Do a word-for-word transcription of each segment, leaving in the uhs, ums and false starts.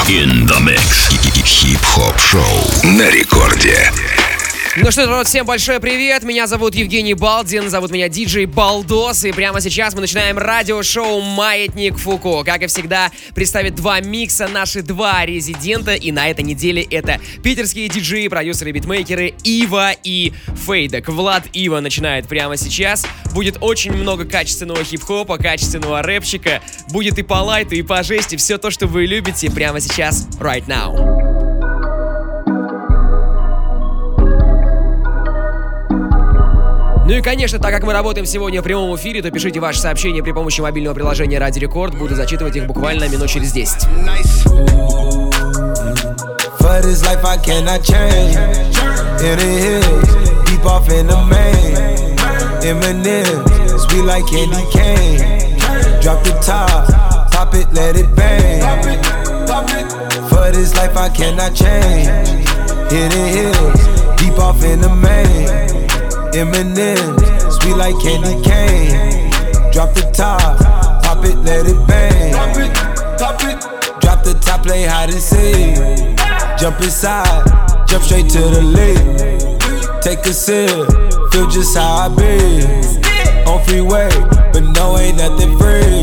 In the mix. Хип-хоп-шоу на рекорде. Ну что ж, народ, всем большой привет. Меня зовут Евгений Балдин, зовут меня диджей Балдос. И прямо сейчас мы начинаем радиошоу «Маятник Фуко». Как и всегда, представит два микса наши два резидента. И на этой неделе это питерские диджеи, продюсеры, битмейкеры Ива и Фейдек. Влад Ива начинает прямо сейчас. Будет очень много качественного хип-хопа, качественного рэпчика. Будет и по лайту, и по жести. Все то, что вы любите прямо сейчас, right now. Ну и, конечно, так как мы работаем сегодня в прямом эфире, то пишите ваши сообщения при помощи мобильного приложения Радио Рекорд. Буду зачитывать их буквально минут через десять. Eminem, sweet like candy cane. Drop the top, pop it, let it bang. Pop it, pop it. Drop the top, play hide and seek. Jump inside, jump straight to the lead. Take a sip, feel just how I be. On freeway, but no, ain't nothing free.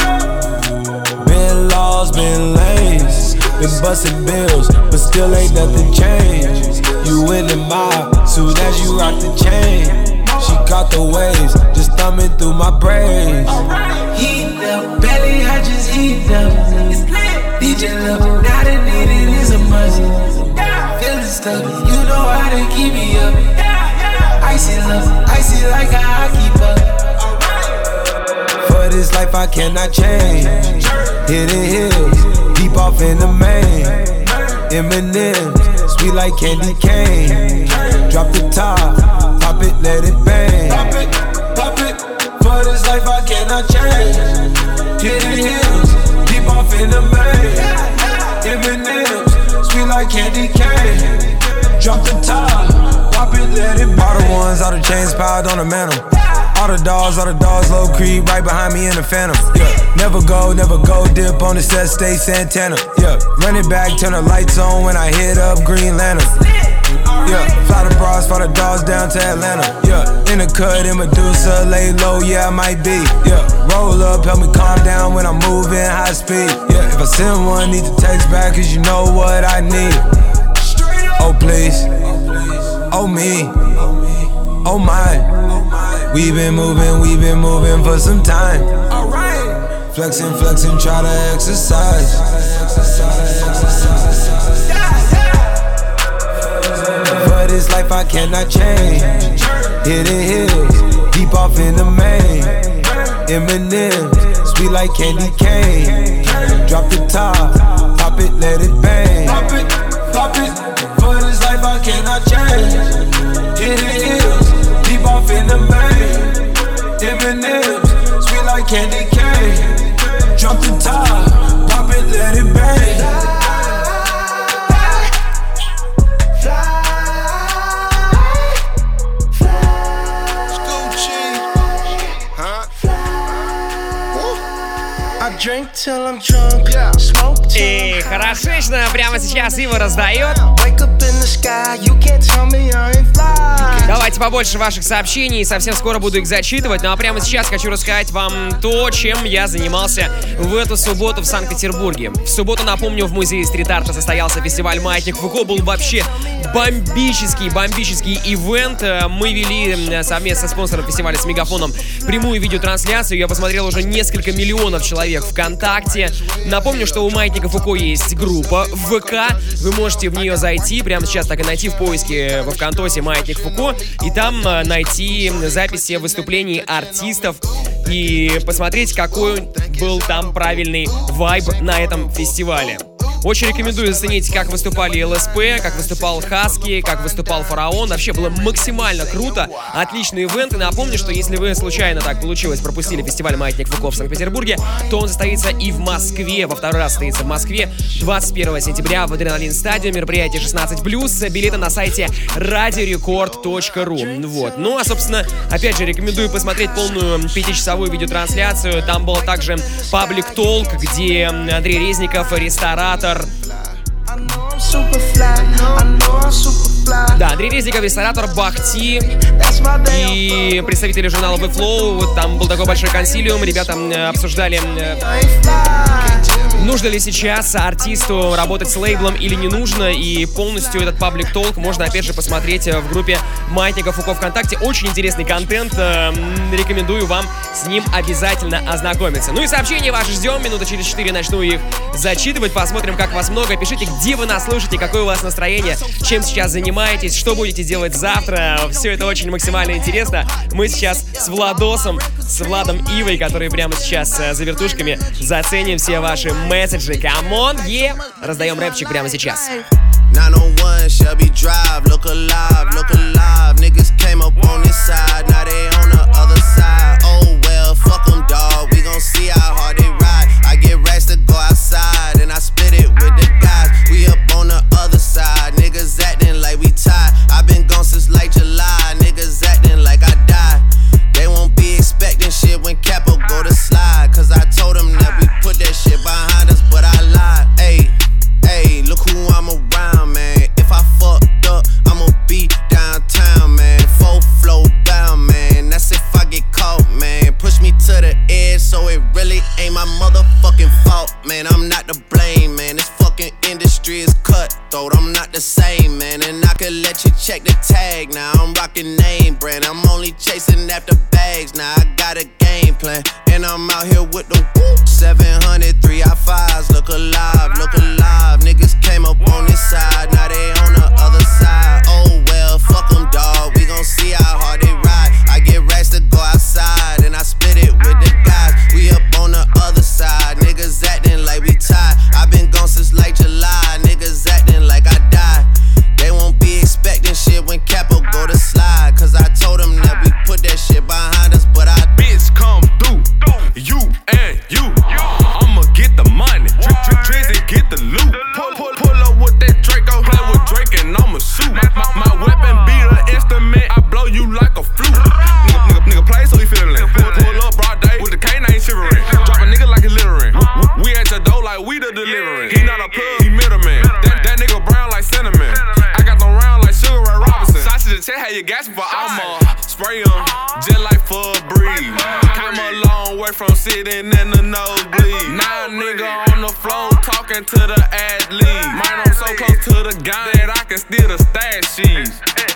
Been laws, been lanes. Been busting bills, but still ain't nothing changed. You in the mob, soon as you rock the chain. She caught the waves, just thumbing through my braids. Heat up, belly, I just heat up. D J love, now the needed is a must. Feeling stuck, you know how to keep me up. Icy love, icy like how I keep up. For this life I cannot change. Hidden hills, deep off in the main. Eminem, sweet like candy cane. Drop the top, pop it, let it bang. Pop it, pop it. For this life I cannot change. Hidden hills, deep off in the main. Eminem, sweet like candy cane. Drop the top, pop it, let it bang. All the ones, all the chains piled on the mantle. All the dogs, all the dogs, low creep, right behind me in the phantom. Yeah, never go, never go, dip on the set, stay Santana. Yeah, run it back, turn the lights on when I hit up Green Lantern. Yeah, fly the bras, fly the dogs down to Atlanta. Yeah, in the cut, in Medusa, lay low, yeah, I might be. Yeah, roll up, help me calm down when I'm moving high speed. Yeah, if I send one, need to text back, cause you know what I need. Oh, please. Oh, me. Oh, my. We been moving, we been moving for some time. Alright. Flexing, flexing, try to exercise. For this life I cannot change. Hidden hills, deep off in the main. Eminem, sweet like candy cane. Drop the top, pop it, let it bang. Pop it, pop it. For this life I cannot change. Hidden hills, deep off in the main. Eminem, sweet like candy cane. Drop the top, pop it, let it bang. Fly, fly, fly. Scoochie, huh? Fly. I drink till I'm drunk, yeah. Smoke. И хорошечно, прямо сейчас Ива раздает. Давайте побольше ваших сообщений, совсем скоро буду их зачитывать. Ну а прямо сейчас хочу рассказать вам то, чем я занимался в эту субботу в Санкт-Петербурге. В субботу, напомню, в музее стрит-арта состоялся фестиваль «Маятник Фуко». Был вообще бомбический, бомбический ивент. Мы вели совместно с спонсором фестиваля с Мегафоном прямую видеотрансляцию. Я посмотрел уже несколько миллионов человек ВКонтакте. Напомню, что у «Маятника Фуко» есть группа в ВК. Вы можете в нее зайти, прямо сейчас так и найти в поиске во ВКонтосе «Маятник Фуко», и там найти записи выступлений артистов и посмотреть, какой был там правильный вайб на этом фестивале. Очень рекомендую заценить, как выступали эл эс пи, как выступал Хаски, как выступал Фараон. Вообще было максимально круто, отличный ивент. И напомню, что если вы случайно так получилось, пропустили фестиваль «Маятник Фуко» в Санкт-Петербурге, то он состоится и в Москве, во второй раз состоится в Москве двадцать первого сентября в Адреналин Стадиум, мероприятие шестнадцать плюс, билеты на сайте радиорекорд точка ру. Вот. Ну, а, собственно, опять же, рекомендую посмотреть полную пятичасовую видеотрансляцию. Там был также Public Talk, где Андрей Резников, ресторатор, Да, Андрей Резников, ресторатор Бахти и представители журнала V-Flow. Вот там был такой большой консилиум, ребята обсуждали, нужно ли сейчас артисту работать с лейблом или не нужно. И полностью этот паблик толк можно опять же посмотреть в группе Маятников УКО ВКонтакте. Очень интересный контент, рекомендую вам с ним обязательно ознакомиться. Ну и сообщения ваши ждем, минута через четыре начну их зачитывать. Посмотрим, как вас много. Пишите, где вы нас слушаете, какое у вас настроение, чем сейчас занимаетесь, что будете делать завтра. Все это очень максимально интересно. Мы сейчас с Владосом, с Владом Ивой, которые прямо сейчас за вертушками, заценим все ваши месседжи. Камон, е! Раздаем рэпчик прямо сейчас. nine oh one Shelby Drive, look alive, look alive. Niggas came up on this side, now they on the other side. Oh well, fuck them, dawg, we gon' see how hard they ride. I get racks to go outside, and I split it with the guys. We up on the other side, niggas acting like we tied. I been gone since like July, niggas acting like I died. They won't be expecting shit when Capo go to slide. Cause I told them that we put that shit behind us, but I lied. Ayy, ayy, look who I'm around, man. If I fucked up, I'ma be downtown, man. Full flow bound, man. That's if I get caught, man. Push me to the edge, so it really ain't my motherfucking fault, man. I'm not to blame, man. This fucking industry is cutthroat. I'm not the same, man. And I could let you check the tag now. I'm rocking name brand. I'm only chasing after bags now. I got a game plan, and I'm out here with the whoop. seven hundred, three I fives. Look alive, look alive. Niggas came up on this side, now they on the other side. Oh well, fuck them, dawg. We gon' see how hard they ride. I get racks to go outside, and I split it with the guys. We up on the other side, niggas acting like we tied. I been gone since like July, niggas acting like I died. They won't be expecting shit when Capo go to slide. Cause I told them that we put that shit behind us, but I bitch come through, you and you. I'ma get the money, Dri Dri Drizzy get the loot. Pull, pull, pull up with that Draco, play with Drake and I'ma shoot. My, my, my weapon be the instrument, I blow you like a flute. Nigga, nigga, nigga play so he feelin'. Pull, pull up broad day with the canine shivering. Drop a nigga like he littering. We at your door like we the delivering. He not a plug, he middleman. That, that nigga brown like cinnamon. I got them round like Sugar Ray Robinson. Sausage check how you gasping for I'ma spray em, just like for a breeze. Came a long way from sitting in the nosebleed. Now a nigga on the floor talking to the athlete. Man, I'm so close to the gun that I can steal the stash sheets.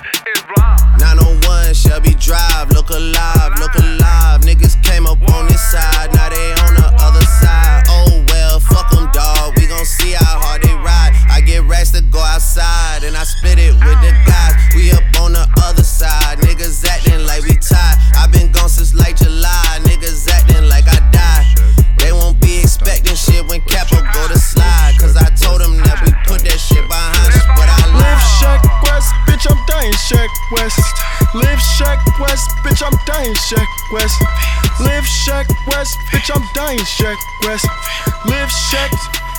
nine oh one Shelby Drive, look alive, look alive. Niggas came up on this side, now they on the other side. Oh well, fuck them, dawg, we gon' see how hard they ride. I get racks to go outside, and I split it with the guys. We up on the other side, niggas acting like we tied. I been gone since like July, niggas acting like I died. They won't be expecting shit when Capo go to slide. Cause I told them that we put that shit behind us, but I lied. Live Shack West, bitch, I'm dying Shack West. Live Shack West, bitch, I'm dying Shack West. Live Shack West, bitch, I'm dying Shack West. Live Shack.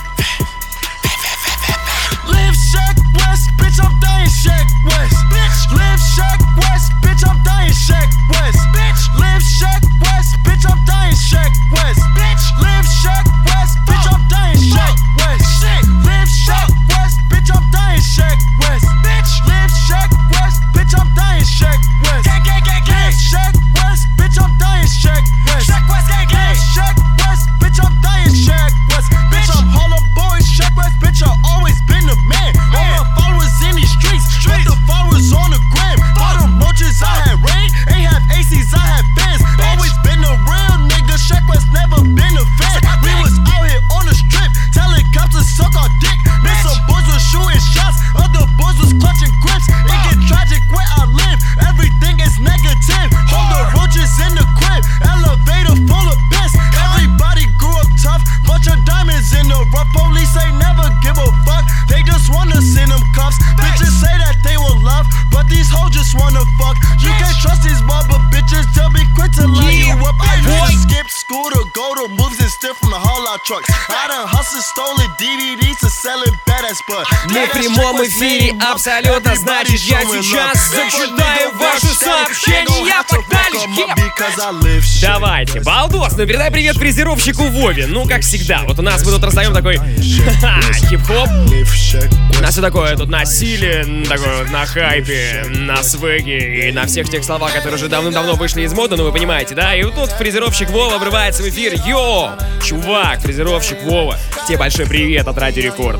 Live Shack West, bitch, I'm dying Shack West. Bitch, live Shack West, bitch, I'm dying Shack West. Bitch, live Shack West, bitch, I'm dying Shack West. Bitch, live Shack West, bitch, I'm dying Shack West. Shit, live Shack West, bitch, I'm dying Shack West. Bitch, live Shack West, bitch, I'm dying Shack West. Gang, gang, gang, gang. Shack West, bitch, I'm dying Shack West. Shack West, gang, gang. Shack West, bitch, I'm dying Shack West. Bitch, I'm Harlem boy, Shack West, bitch, I always been the man. All my followers in these streets, with the followers on the gram. All the roaches I had rain, ain't have A Cs, I had bands. Always been a real nigga, Shack West never been a fan. We was out here on the strip, telling cops to suck our dick. Then some boys was shooting shots, other boys was clutching grips. It get tragic where I live, everything is negative. Hold the roaches in the crib, elevator full of piss. Everybody grew up tough, bunch of diamonds in the rough. Police ain't never give a fuck, they just wanna send them cuffs. Bitches say that they will love, but these hoes just wanna fuck. You can't trust these mother bitches, they'll be quick to line you up. I need to skip school to go to moves and steal from the haul out trucks. I done hustled, stolen ди ви ди to sell it badass, but Мы в прямом эфире абсолютно, значит, я сейчас зачитаю ваши сообщения. Погнали! Давайте, балдос, ну передай привет фрезеровщику Вове. Ну, как всегда, вот у нас мы тут раздаем такой хип-хоп. У нас все такое тут на силе, такое вот на хайпе, на свеге и на всех тех словах, которые уже давным-давно вышли из моды, ну вы понимаете, да? И вот тут фрезеровщик Вова врывается в эфир. Йо, чувак, фрезеровщик Вова, тебе большой привет от Радио Рекорд.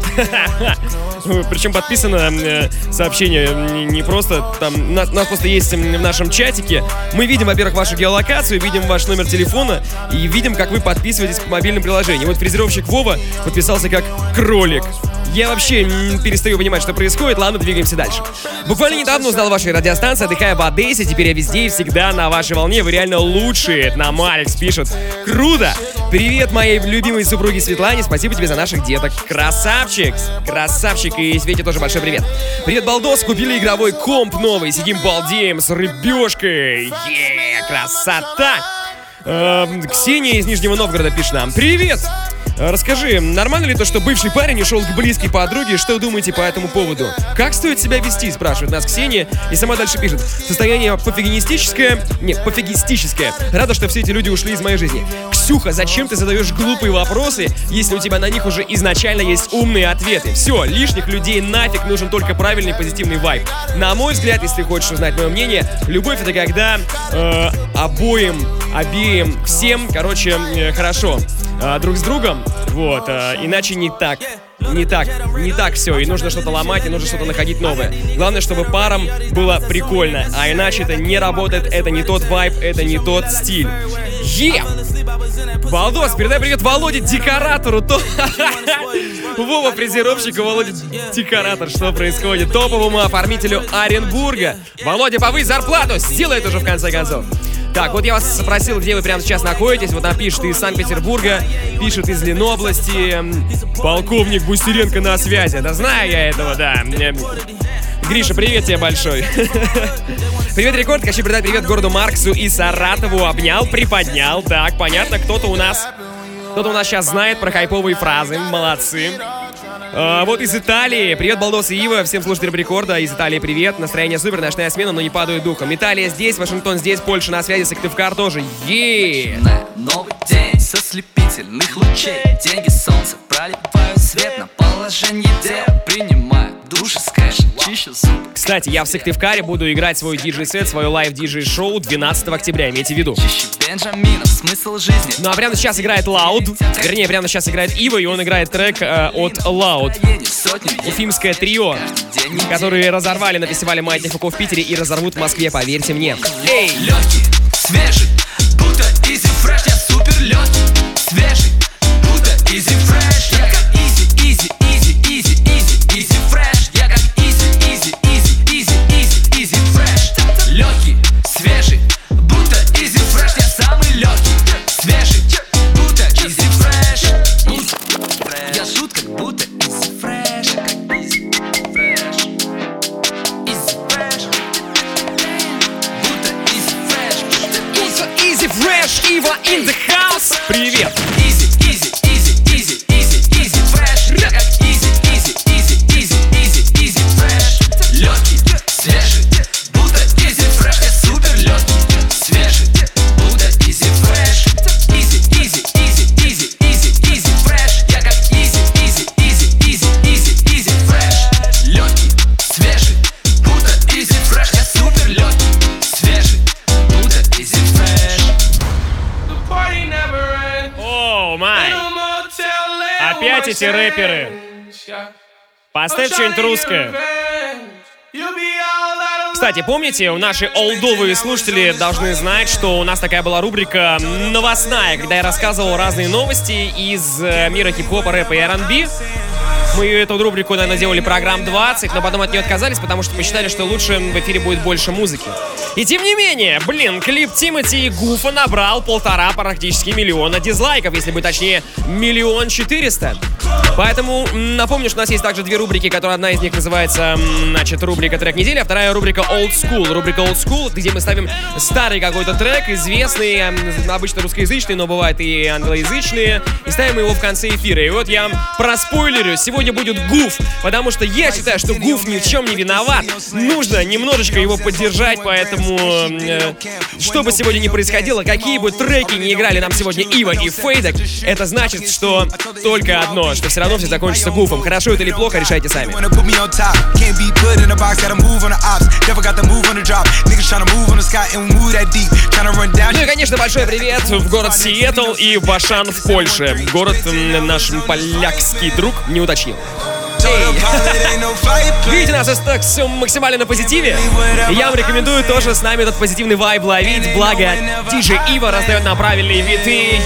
Причем подписано э, сообщение не просто там, нас, нас просто есть в нашем чатике. Мы видим, во-первых, вашу геолокацию, видим ваш номер телефона и видим, как вы подписываетесь к мобильным приложениям. Вот фрезеровщик Вова подписался как кролик. Я вообще перестаю понимать, что происходит. Ладно, двигаемся дальше. Буквально недавно узнал вашей радиостанции, отдыхая в Одессе. Теперь я везде и всегда на вашей волне. Вы реально лучшие. Нам Алекс пишет. Круто! Привет моей любимой супруге Светлане. Спасибо тебе за наших деток. Красавчик! Красавчик. И Свете тоже большой привет. Привет, балдос. Купили игровой комп новый. Сидим балдеем с рыбешкой. Еее, красота! Эм, Ксения из Нижнего Новгорода пишет нам. Привет! Расскажи, нормально ли то, что бывший парень ушел к близкой подруге? Что думаете по этому поводу? Как стоит себя вести, спрашивает нас Ксения. И сама дальше пишет. Состояние пофигистическое. Нет, пофигистическое. Рада, что все эти люди ушли из моей жизни. Ксюха, зачем ты задаешь глупые вопросы, если у тебя на них уже изначально есть умные ответы? Все, лишних людей нафиг, нужен только правильный позитивный вайб. На мой взгляд, если хочешь узнать мое мнение, любовь — это когда э, обоим, обеим, всем, короче, э, хорошо э, друг с другом. Вот, э, иначе не так. Не так, не так все, и нужно что-то ломать, и нужно что-то находить новое. Главное, чтобы парам было прикольно, а иначе это не работает, это не тот вайб, это не тот стиль. Е! Балдос, передай привет Володе Декоратору. То... Вова фрезеровщик и Володя Декоратор. Что происходит? Топовому оформителю Оренбурга. Володя, повысь зарплату, сделай это уже в конце концов. Так, вот я вас спросил, где вы прямо сейчас находитесь. Вот нам пишет из Санкт-Петербурга, пишет из Ленобласти. Полковник Бустеренко на связи. Да знаю я этого, да. Гриша, привет тебе большой. Привет, Рекорд. Хочу передать привет городу Марксу и Саратову. Обнял, приподнял. Так, понятно, кто-то у нас... Кто-то у нас сейчас знает про хайповые фразы. Молодцы. А, вот из Италии. Привет, Балдос и Ива. Всем слушателям Рекорда. Из Италии привет. Настроение супер, ночная смена, но не падаю духом. Италия здесь, Вашингтон здесь, Польша на связи, Сыктывкар тоже. Еее! Новый день со слепительных лучей. Деньги, солнце проливают свет на положение дел. Принимаю душ из кэша, чищу зубы. Кстати, я в Сыктывкаре буду играть свой диджей-сет, свое лайв-диджей-шоу двенадцатого октября, имейте в виду. Бенджаминов, смысл жизни. Ну а прямо сейчас играет Loud. Вернее, прямо сейчас играет Ива, и он играет трек э, от Loud. Уфимское трио, которые разорвали на фестивале «Маятник Фуко» в Питере и разорвут в Москве, поверьте мне. Эй! Легкий, свежий, будто изи фреш. Я супер легкий, свежий, будто изи фреш. Я как изи, изи, изи, изи, изи, изи фреш. Я как изи, изи, изи, изи, изи, изи фреш. Легкий, свежий, будто изи фреш. Я самый легкий, свежий, будто изи фреш. Я жут как будто изи фреш. Как изи фреш. Изи фреш. Будто изи фреш. Easy Fresh, Ива in the house. Привет. Easy, easy, easy, easy, easy, easy fresh. Я как easy, easy, easy, easy, easy, easy fresh. Легкий, свежий, будто easy fresh. Я супер легкий, свежий, будто easy fresh. Easy, easy, easy, easy, easy, easy fresh. Я как easy, easy, easy, easy, easy, easy fresh. Легкий, свежий, будто easy fresh. Я супер легкий, свежий, будто easy fresh. О, май. Опять эти рэперы. Поставь что-нибудь русское. Кстати, помните, наши олдовые слушатели должны знать, что у нас такая была рубрика новостная, когда я рассказывал разные новости из мира хип-хопа, рэпа и ар энд би. Мы эту рубрику, наверное, делали программ двадцать, но потом от нее отказались, потому что мы считали, что лучше в эфире будет больше музыки. И тем не менее, блин, клип Тимати и Гуфа набрал полтора практически миллиона дизлайков, если быть точнее, миллион четыреста. Поэтому напомню, что у нас есть также две рубрики, которые одна из них называется, значит, рубрика «Трек недели», а вторая рубрика «Old School». Рубрика «Old School», где мы ставим старый какой-то трек, известный, обычно русскоязычный, но бывает и англоязычные, и ставим его в конце эфира. И вот я проспойлерю, сегодня будет Гуф, потому что я считаю, что Гуф ни в чем не виноват. Нужно немножечко его поддержать, поэтому, э, что бы сегодня ни происходило, какие бы треки не играли нам сегодня Ива и Фейдек, это значит, что только одно, что все равно все закончится Гуфом. Хорошо это или плохо, решайте сами. Ну и, конечно, большой привет в город Сиэтл и в Ашан в Польше. Город наш полякский друг не уточнил. Видите, нас так все максимально на позитиве. И я вам рекомендую тоже с нами этот позитивный вайб ловить. Благо, диджей Ива раздает нам правильные биты.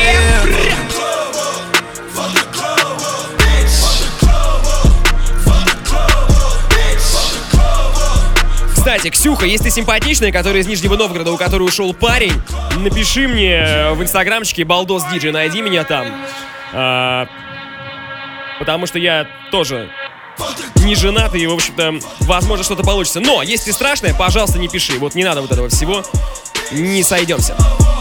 Кстати, Ксюха, если ты симпатичная, которая из Нижнего Новгорода, у которой ушел парень, напиши мне в инстаграмчике Балдос Диджей, найди меня там. А, потому что я тоже не женат, и, в общем-то, возможно, что-то получится. Но, если ты страшная, пожалуйста, не пиши. Вот не надо вот этого всего. Не сойдемся.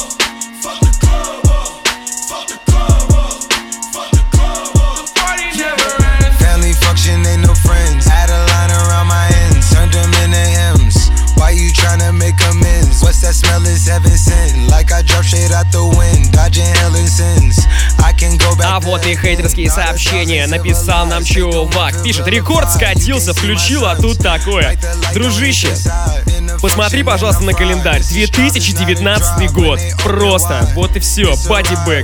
А вот и хейтерские сообщения. Написал нам чувак. Пишет: рекорд скатился, включил, а тут такое. Дружище, посмотри, пожалуйста, на календарь. две тысячи девятнадцатый год. Просто. Вот и все. Бади бэк.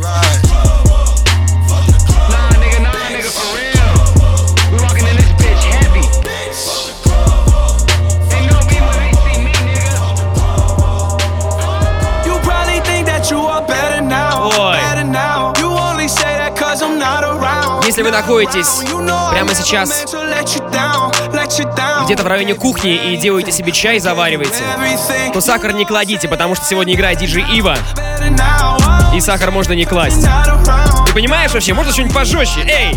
Если вы находитесь прямо сейчас где-то в районе кухни и делаете себе чай, завариваете, то сахар не кладите, потому что сегодня играет диджей Ива, и сахар можно не класть. Ты понимаешь вообще? Можно что-нибудь пожестче? Эй!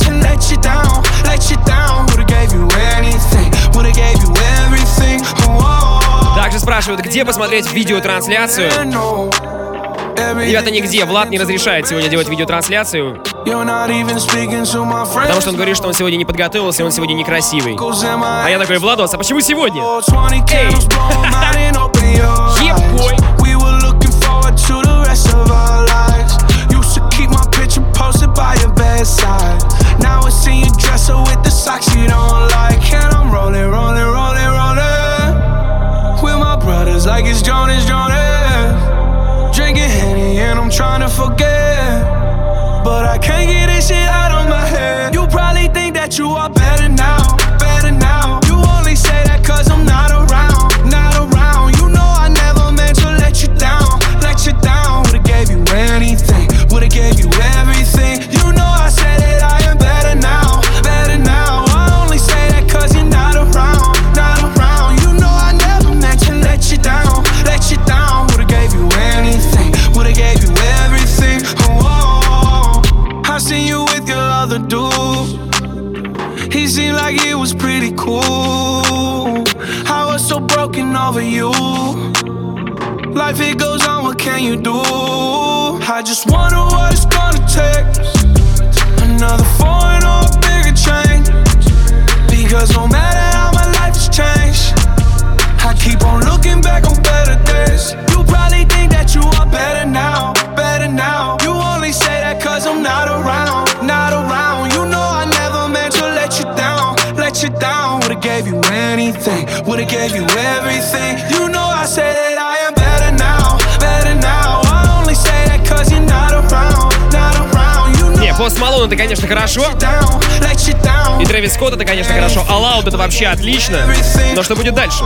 Также спрашивают, где посмотреть видеотрансляцию. Ребята, нигде. Влад не разрешает сегодня делать видеотрансляцию, потому что он говорит, что он сегодня не подготовился, он сегодня некрасивый. А я такой: Владос, а почему сегодня? Эй! Ебой! Drinking Henny and I'm trying to forget, but I can't get this shit out of my head. You probably think that you are better now, better now. You only say that cause I'm not around, not around. You know I never meant to let you down, let you down. Would've gave you anything, would've gave you everything. You know I said that I am better now, better now. I only say that cause you're not around, not around. You know I never meant to let you down, let you down. Would've gave you anything, would've gave you everything. Oh, I seen you with your other dude. He seemed like it was pretty cool. I was so broken over you. Life it goes on, what can you do? I just wonder what it's gonna take. Another foreign or a bigger change. Because no matter how my life has changed, I keep on looking back on better days. You probably think that you are better now, better now. You only say that cause I'm not around, not around. You know I never meant to let you down, let you down. Would've gave you anything, would've gave you everything. You know I say that I am better now, better now. I only say that cause you're not around, not around. You know. Не, Пост Малон это, конечно, хорошо. И Трэвис Скотт это, конечно, хорошо. А Лауд это вообще отлично. Но что будет дальше?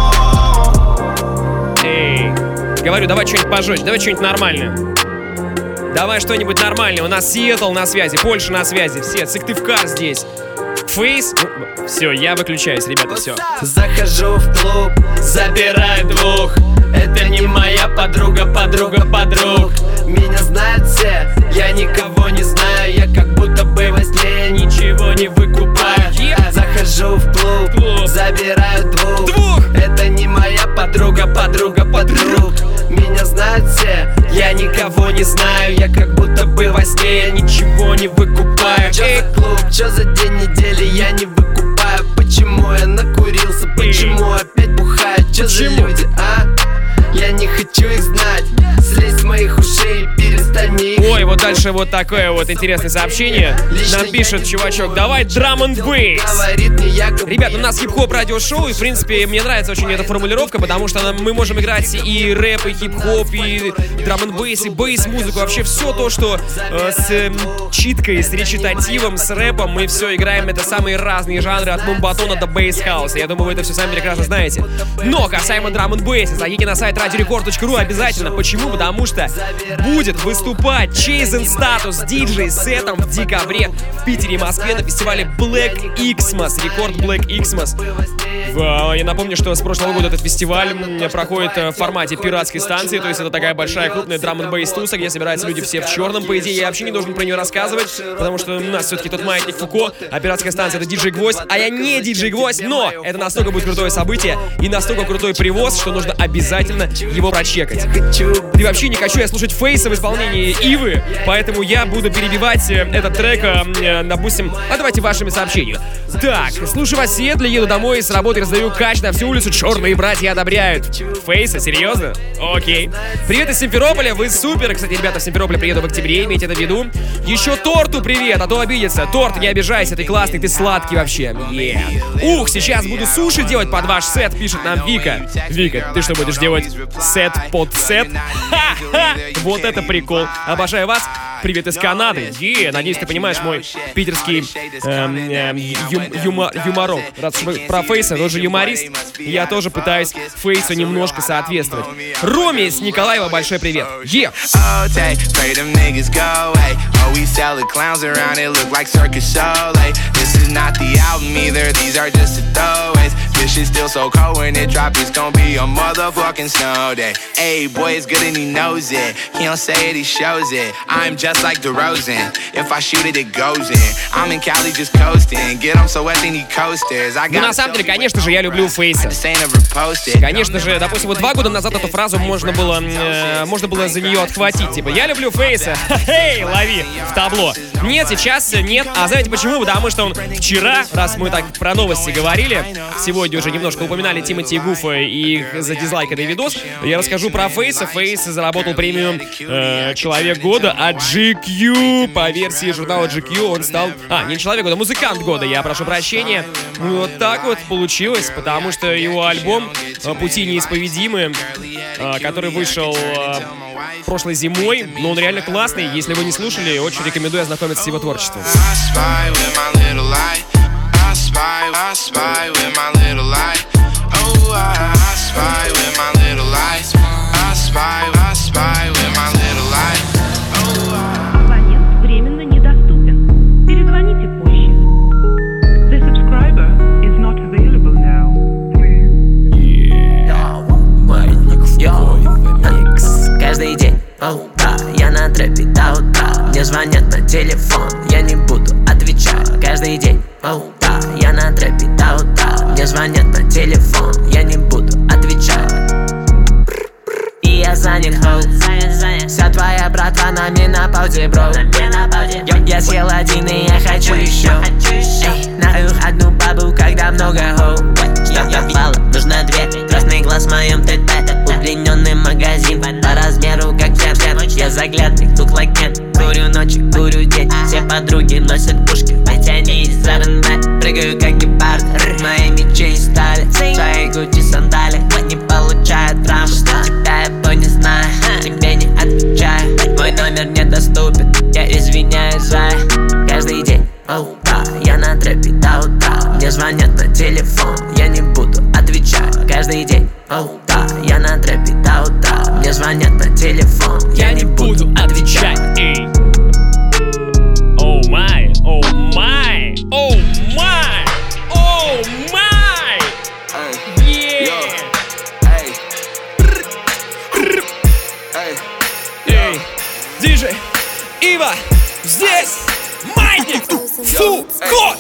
Эй, говорю, давай что-нибудь пожестче, давай что-нибудь нормальное. Давай что-нибудь нормальное. У нас Сиэтл на связи, Польша на связи, все, Сыктывкар здесь. Фейс. Ну, все, я выключаюсь, ребята, все. Захожу в клуб, забираю двух. Это не моя подруга, подруга подруг. Меня знают все, я никого не знаю. Я как будто бы во сне ничего не выкупаю. Yep. Захожу в клуб, клуб, забираю двух. Двух. Это не моя подруга, подруга подруг. Меня знают все, я никого не знаю. Я как будто бы во сне, я ничего не выкупаю. Чё за клуб, чё за день недели, я не выкупаю. Почему я накурился, почему опять бухаю? Чё за люди, а? Я не хочу их знать. Слезь с моих ушей и перестань их. Ой, вот дальше вот такое вот интересное сообщение. Нам пишет чувачок: давай drum and bass. Ребят, у нас хип-хоп радиошоу, и в принципе мне нравится очень эта формулировка, потому что мы можем играть и рэп, и хип-хоп, и drum and bass, и бейс-музыку. Вообще все то, что э, с э, читкой, с речитативом, с рэпом, мы все играем. Это самые разные жанры, от мумбатона до бейс-хауса. Я думаю, вы это все сами прекрасно знаете. Но касаемо drum and bass, зайдите на сайт радио рекорд точка ру обязательно. Почему? Потому что будет выступать Chasing Status диджей сетом в декабре в Питере и Москве на фестивале Black Xmas, рекорд Black Xmas. В, я напомню, что с прошлого года этот фестиваль проходит в формате пиратской станции, то есть это такая большая крупная драм н бейс туса, где собираются люди все в черном. По идее, я вообще не должен про нее рассказывать, потому что у нас все-таки тот маятник Фуко, а пиратская станция — это диджей Гвоздь, а я не диджей Гвоздь, но это настолько будет крутое событие и настолько крутой привоз, что нужно обязательно его прочекать. И вообще не хочу я слушать Фейса в исполнении Ивы, поэтому я буду перебивать этот трек, допустим, а давайте вашими сообщениями. Так, слушаю вас в Сиэтле, еду домой с работы, раздаю кач на всю улицу, черные братья одобряют. Фейса, серьезно? Окей. Привет из Симферополя, вы супер. Кстати, ребята, в Симферополе приеду в октябре, имейте это в виду. Еще Торту привет, а то обидится. Торт, не обижайся, ты классный, ты сладкий вообще. Yeah. Ух, сейчас буду суши делать под ваш сет, пишет нам Вика. Вика, ты что будешь делать? Сет под сет? Ха-ха! Вот это прикол. Обожаю вас. Привет из Канады. Е, надеюсь, ты понимаешь мой питерский эм, эм, ю, юма, юморок. Раз про Фейса, тоже юморист, я тоже пытаюсь Фейсу немножко соответствовать. Роме из Николаева, большой привет. Е! This shit still so cold when it drop, it's gon' be a motherfucking snow day. Hey, boy, it's good and he knows it. He don't say it, he shows it. I'm just like DeRozan. If I shoot it, it goes in. I'm in Cali just coasting. Get him so wet, then he coasters. I got. Ну, на самом деле, конечно же, я люблю Фейса. Конечно же, допустим, вот два года назад эту фразу можно было, э, можно было за нее отхватить. Типа, я люблю Фейса. Эй, лови в табло. Нет, сейчас нет. А знаете почему? Потому что он вчера, раз мы так про новости говорили, сегодня уже немножко упоминали Тимати и Гуфа и их задизлайканный видос, я расскажу про Фейса. Фейс заработал премию э, Человек года от джи кью. По версии журнала джи кью он стал... А, не Человек года, Музыкант года, я прошу прощения. Вот так вот получилось, потому что его альбом «Пути неисповедимы», э, который вышел э, прошлой зимой, но он реально классный. Если вы не слушали, очень рекомендую ознакомиться с его творчеством. I spy, I spy with my little light. Oh, I, I spy with my little light. I spy, I spy with my little light. Oh, I... Абонент временно недоступен. Перезвоните позже. The subscriber is not available now. Микс каждый день, оу, да, я на трэпе до утра. Мне звонят на телефон, я не буду отвечать. Каждый день, оу, да, я на трэпе до утра. Мне звонят на телефон, я не буду отвечать. И я занят, хоу. Вся твоя братва на менопаузе, бро. Я, я съел один и я хочу еще. Эй, на их одну бабу, когда много хоу. Я, я впала, нужно две. Красный глаз в моем ТТ. Удлиненный магазин по размеру как джем. Я заглядный, look like Ken. Курю ночью, курю день. Все подруги носят пушки, ведь они из эр эн бэ. Прыгаю как гепард, мои мечи из стали. Свои гучи сандали, не получают травму. Тебя я то не знаю, тебе не отвечаю. Мой номер недоступен, я извиняюсь за. Каждый день, оу, да, я на трэпе до утра. Мне звонят на телефон, я не буду отвечать. Каждый день, оу, да, я на трэпе до утра. Мне звонят на телефон, я не буду отвечать. Оу май, оу май, оу май. здесь Маятник Фуко.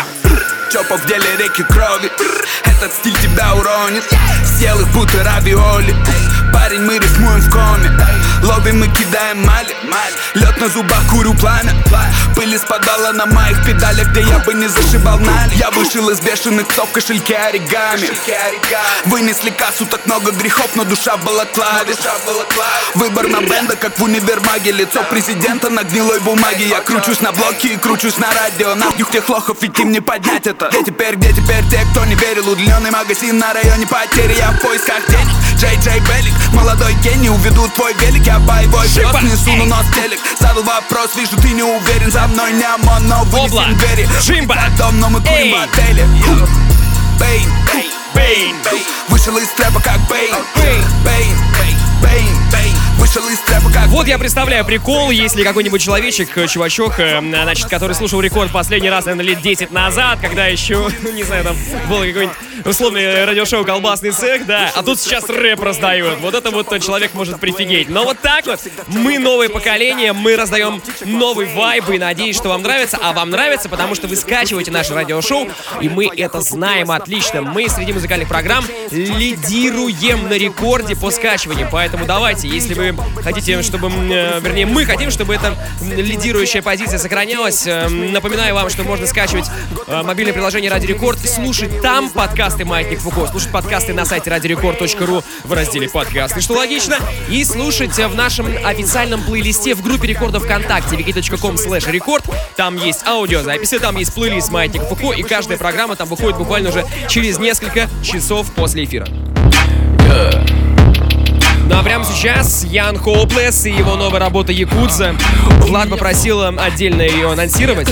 Чопа в деле реки крови, этот стиль тебя уронит. Съел их будто равиоли. Парень, мы рифмуем в коме. Ловим и кидаем мали. Лед на зубах, курю пламя. Пыль из подвала на моих педалях, где я бы не зашибал нали. Я вышел из бешеных псов в кошельке оригами. Вынесли кассу, так много грехов, но душа в балаклаве. Выбор на бенда, как в универмаге. Лицо президента на гнилой бумаге. Я кручусь на блоке и кручусь на радио. Нахуй тех лохов, ведь им не поднять это. Где теперь, где теперь те, кто не верил? Удлиненный магазин на районе потери. Я в поисках денег. Джей Джей Белик, молодой гений, уведу твой велик. Я боевой пес, несу на нос телек. Задал вопрос, вижу, ты не уверен. За мной не ОМОН, но вынесем двери. Джимба, дом, но мы курим в отеле. Бейн, Бейн, вышел из трэпа как Бейн. Бейн, Бейн, Бейн, Бейн, вышел из трэпа как. Вот я представляю прикол, если какой-нибудь человечек, чувачок, значит, который слушал Рекорд последний раз, наверное, лет десять назад, когда еще, не знаю, там было какое-нибудь условное радиошоу «Колбасный цех», да, а тут сейчас рэп раздают. Вот это вот человек может прифигеть. Но вот так вот мы новое поколение, мы раздаем новый вайб, и надеюсь, что вам нравится. А вам нравится, потому что вы скачиваете наше радиошоу, и мы это знаем отлично. Мы среди музыкальных программ лидируем на Рекорде по скачиванию. Поэтому давайте, если вы хотите, чтобы, э, вернее, мы хотим, чтобы эта лидирующая позиция сохранялась, э, напоминаю вам, что можно скачивать э, мобильное приложение Радио Рекорд, слушать там подкасты «Маятник Фуко», слушать подкасты на сайте радиорекорд точка ру в разделе «Подкасты», что логично, и слушать в нашем официальном плейлисте в группе Рекорда ВКонтакте вики точка ком слэш рекорд. Там есть аудиозаписи, там есть плейлист «Маятник Фуко», и каждая программа там выходит буквально уже через несколько часов после эфира. Yeah. Ну а прямо сейчас Ян Хоуплес и его новая работа «Якудза». Влад попросил отдельно ее анонсировать.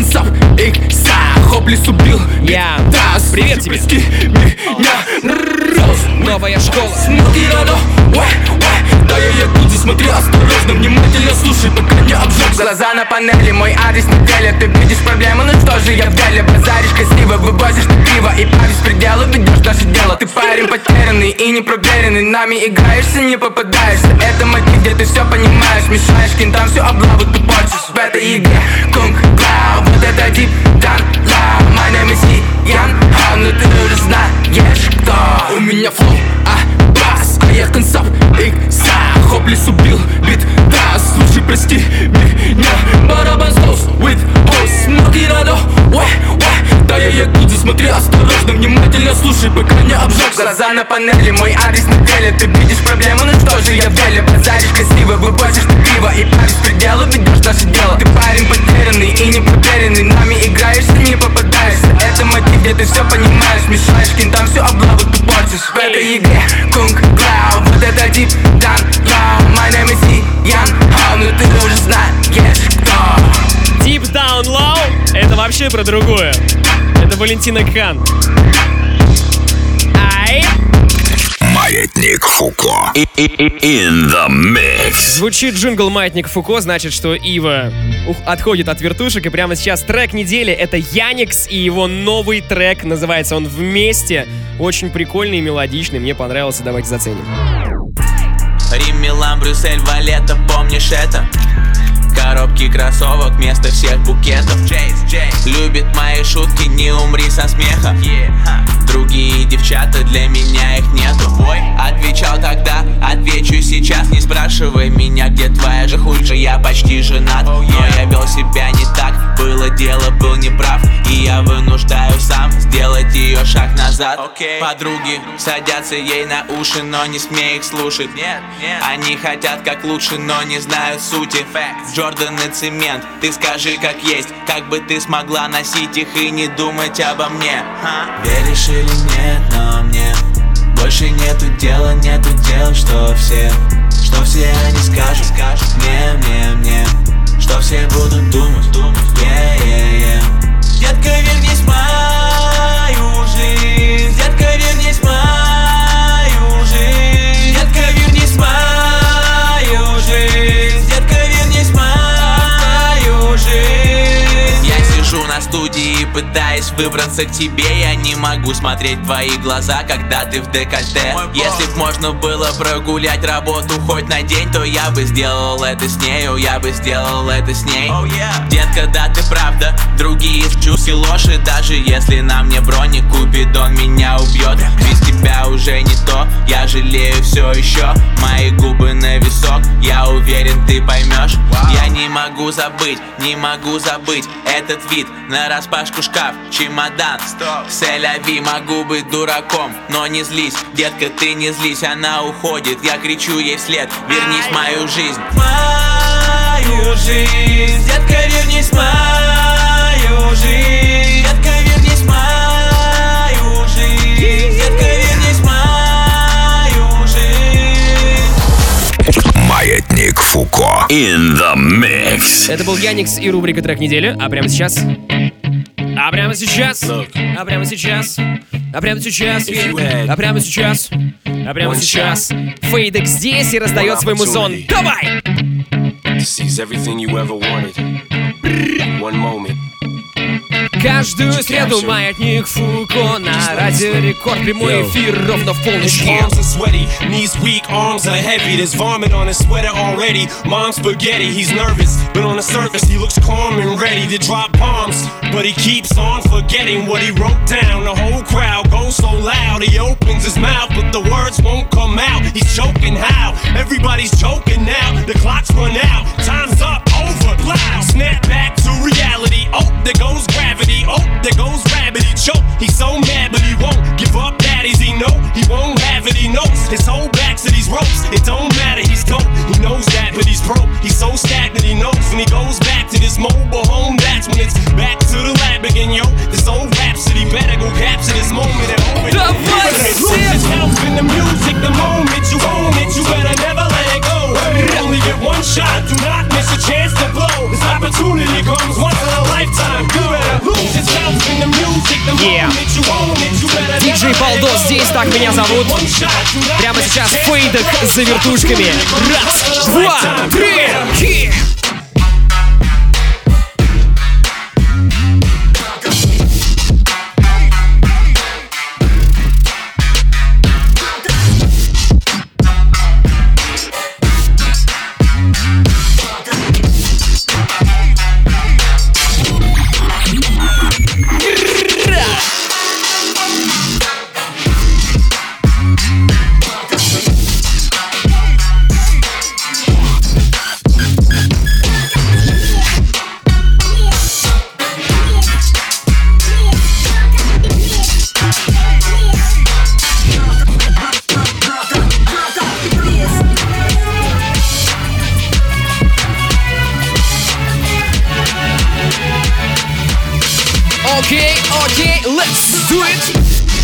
Я. Привет тебе. Новая школа. Да я якудзе, смотри осторожно, внимательно слушай, пока не обжег. Глаза на панели, мой адрес на деле. Ты видишь проблему, ну что же я в деле. Базаришь красиво, вывозишь ты пиво и по беспределу ведешь наше дело. Ты парень потерянный и непроверенный, нами играешься, не попадаешься. Это мотив, где ты все понимаешь. Мешаешь кентам всю облаву, ты портишь в этой игре. Кунг Клау, вот это дип, дан, ла. My name is Ян, а, ну ты уже знаешь кто. У меня флоу, а бас, а я концов, икса. Хоплес убил бит, да, слушай, прости меня. Барабан слоус, with house, смоки радо, уэ, уэ. Да я якудзе, смотри осторожно, внимательно слушай, пока не обжег. Глаза на панели, мой адрес на деле. Ты видишь проблему, ну что же я в деле. Базаришь красиво, вывозишь ты пиво и по беспределу ведешь наше дело. Ты парень потерянный и непроверенный, нами играешься, не попадаешься. Это мотив, где ты все понимаешь. Мешаешь кентам всю облаву, ты портишь в этой игре. Кунг Клау, вот это дип, дан, ла. My name is Ян, а, ну ты уже знаешь кто. Deep Down Low — это вообще про другое. Это Валентина Кан. Ай! Маятник Фуко. In the mix. Звучит джингл «Маятник Фуко», значит, что Ива ух, отходит от вертушек. И прямо сейчас трек недели — это Яникс и его новый трек. Называется он «Вместе». Очень прикольный и мелодичный. Мне понравился, давайте заценим. Рим, Милан, Брюссель, Валета, помнишь это? Коробки кроссовок вместо всех букетов. Любит мои шутки, не умри со смеха. Другие девчата, для меня их нету. Отвечал тогда, отвечу сейчас. Не спрашивай меня, где твоя же хуй же, я почти женат. Но я вел себя не так, было дело, был неправ. И я вынуждаю сам сделать ее шаг назад. Подруги садятся ей на уши, но не смей их слушать. Они хотят как лучше, но не знают сути. Джордан и цемент, ты скажи как есть. Как бы ты смогла носить их и не думать обо мне? Веришь или нет, но мне больше нету дела, нету дел, что все, что все они скажут, скажут мне, мне, мне, что все будут думать, думать, yeah, yeah, yeah. Детка, вернись в мою жизнь, детка, вернись в мою жизнь, детка, вернись в мою жизнь, детка, вернись в мою жизнь. Я сижу на студии проходе и пытаясь выбраться к тебе, я не могу смотреть в твои глаза, когда ты в декольте. Если б можно было прогулять работу хоть на день, то я бы сделал это с нею, я бы сделал это с ней. oh, yeah. Детка, да ты правда, другие чушь и ложь, и даже если на мне броник Купидон меня убьет, без тебя уже не то, я жалею все еще. Мои губы на висок, я уверен, ты поймешь. wow. Я не могу забыть, не могу забыть этот вид, нараспашку шкаф, чемодан. Селяви, могу быть дураком, но не злись, детка, ты не злись. Она уходит, я кричу ей вслед: вернись в мою жизнь. Мою жизнь, детка, вернись в мою жизнь. Детка, вернись в мою жизнь. Детка, вернись в мою жизнь. Маятник Фуко in the mix. Это был Яникс и рубрика «Трек недели», а прямо сейчас... А прямо сейчас, а прямо сейчас, а прямо сейчас, а прямо сейчас, а прямо сейчас Фейдек здесь и раздает свой музон. Давай! Каждую среду Маятник Фуко на Радио Рекорд. Прямой эфир ровно в полночь. Arms are sweaty, knees weak, arms are heavy. There's vomit on his sweater already. Mom's spaghetti, he's nervous, but on the surface he looks calm and ready to drop bombs. But he keeps on forgetting what he wrote down. The whole crowd goes so loud, he opens his mouth, but the words won't come out. He's choking how? Everybody's joking now. The clock's run out, time's up, over, loud. Snap back to reality. Oh, there goes gravity. Oh, there goes rabbit, he choke. He's so mad, but he won't give up. Daddies, he know he won't have it. He knows his whole back to these ropes. It don't matter, he's dope. He knows that, but he's broke. He's so stagnant, he knows when he goes back to this mobile home. That's when it's back to the lab again, yo. This old rhapsody better go capture this moment and own it. Just helps in the music, the moment you own it, you better never let it go. You only get one shot, do not miss a chance to blow. This opportunity comes once in a lifetime. You better lose yourself in the music, the moment you own it, you better never let it go. Диджей Балдос здесь, так меня зовут. Прямо сейчас Фейдек за вертушками. Раз, два, три, хи! Okay, okay, let's do it!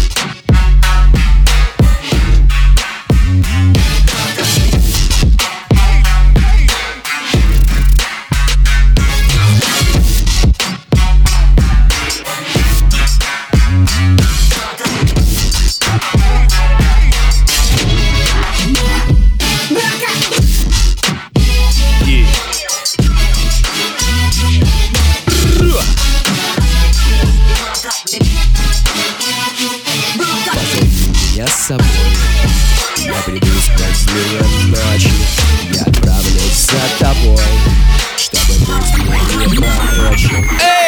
С собой я приду с празднуем ночи. Я отправлюсь за тобой, чтобы ты не пророчил.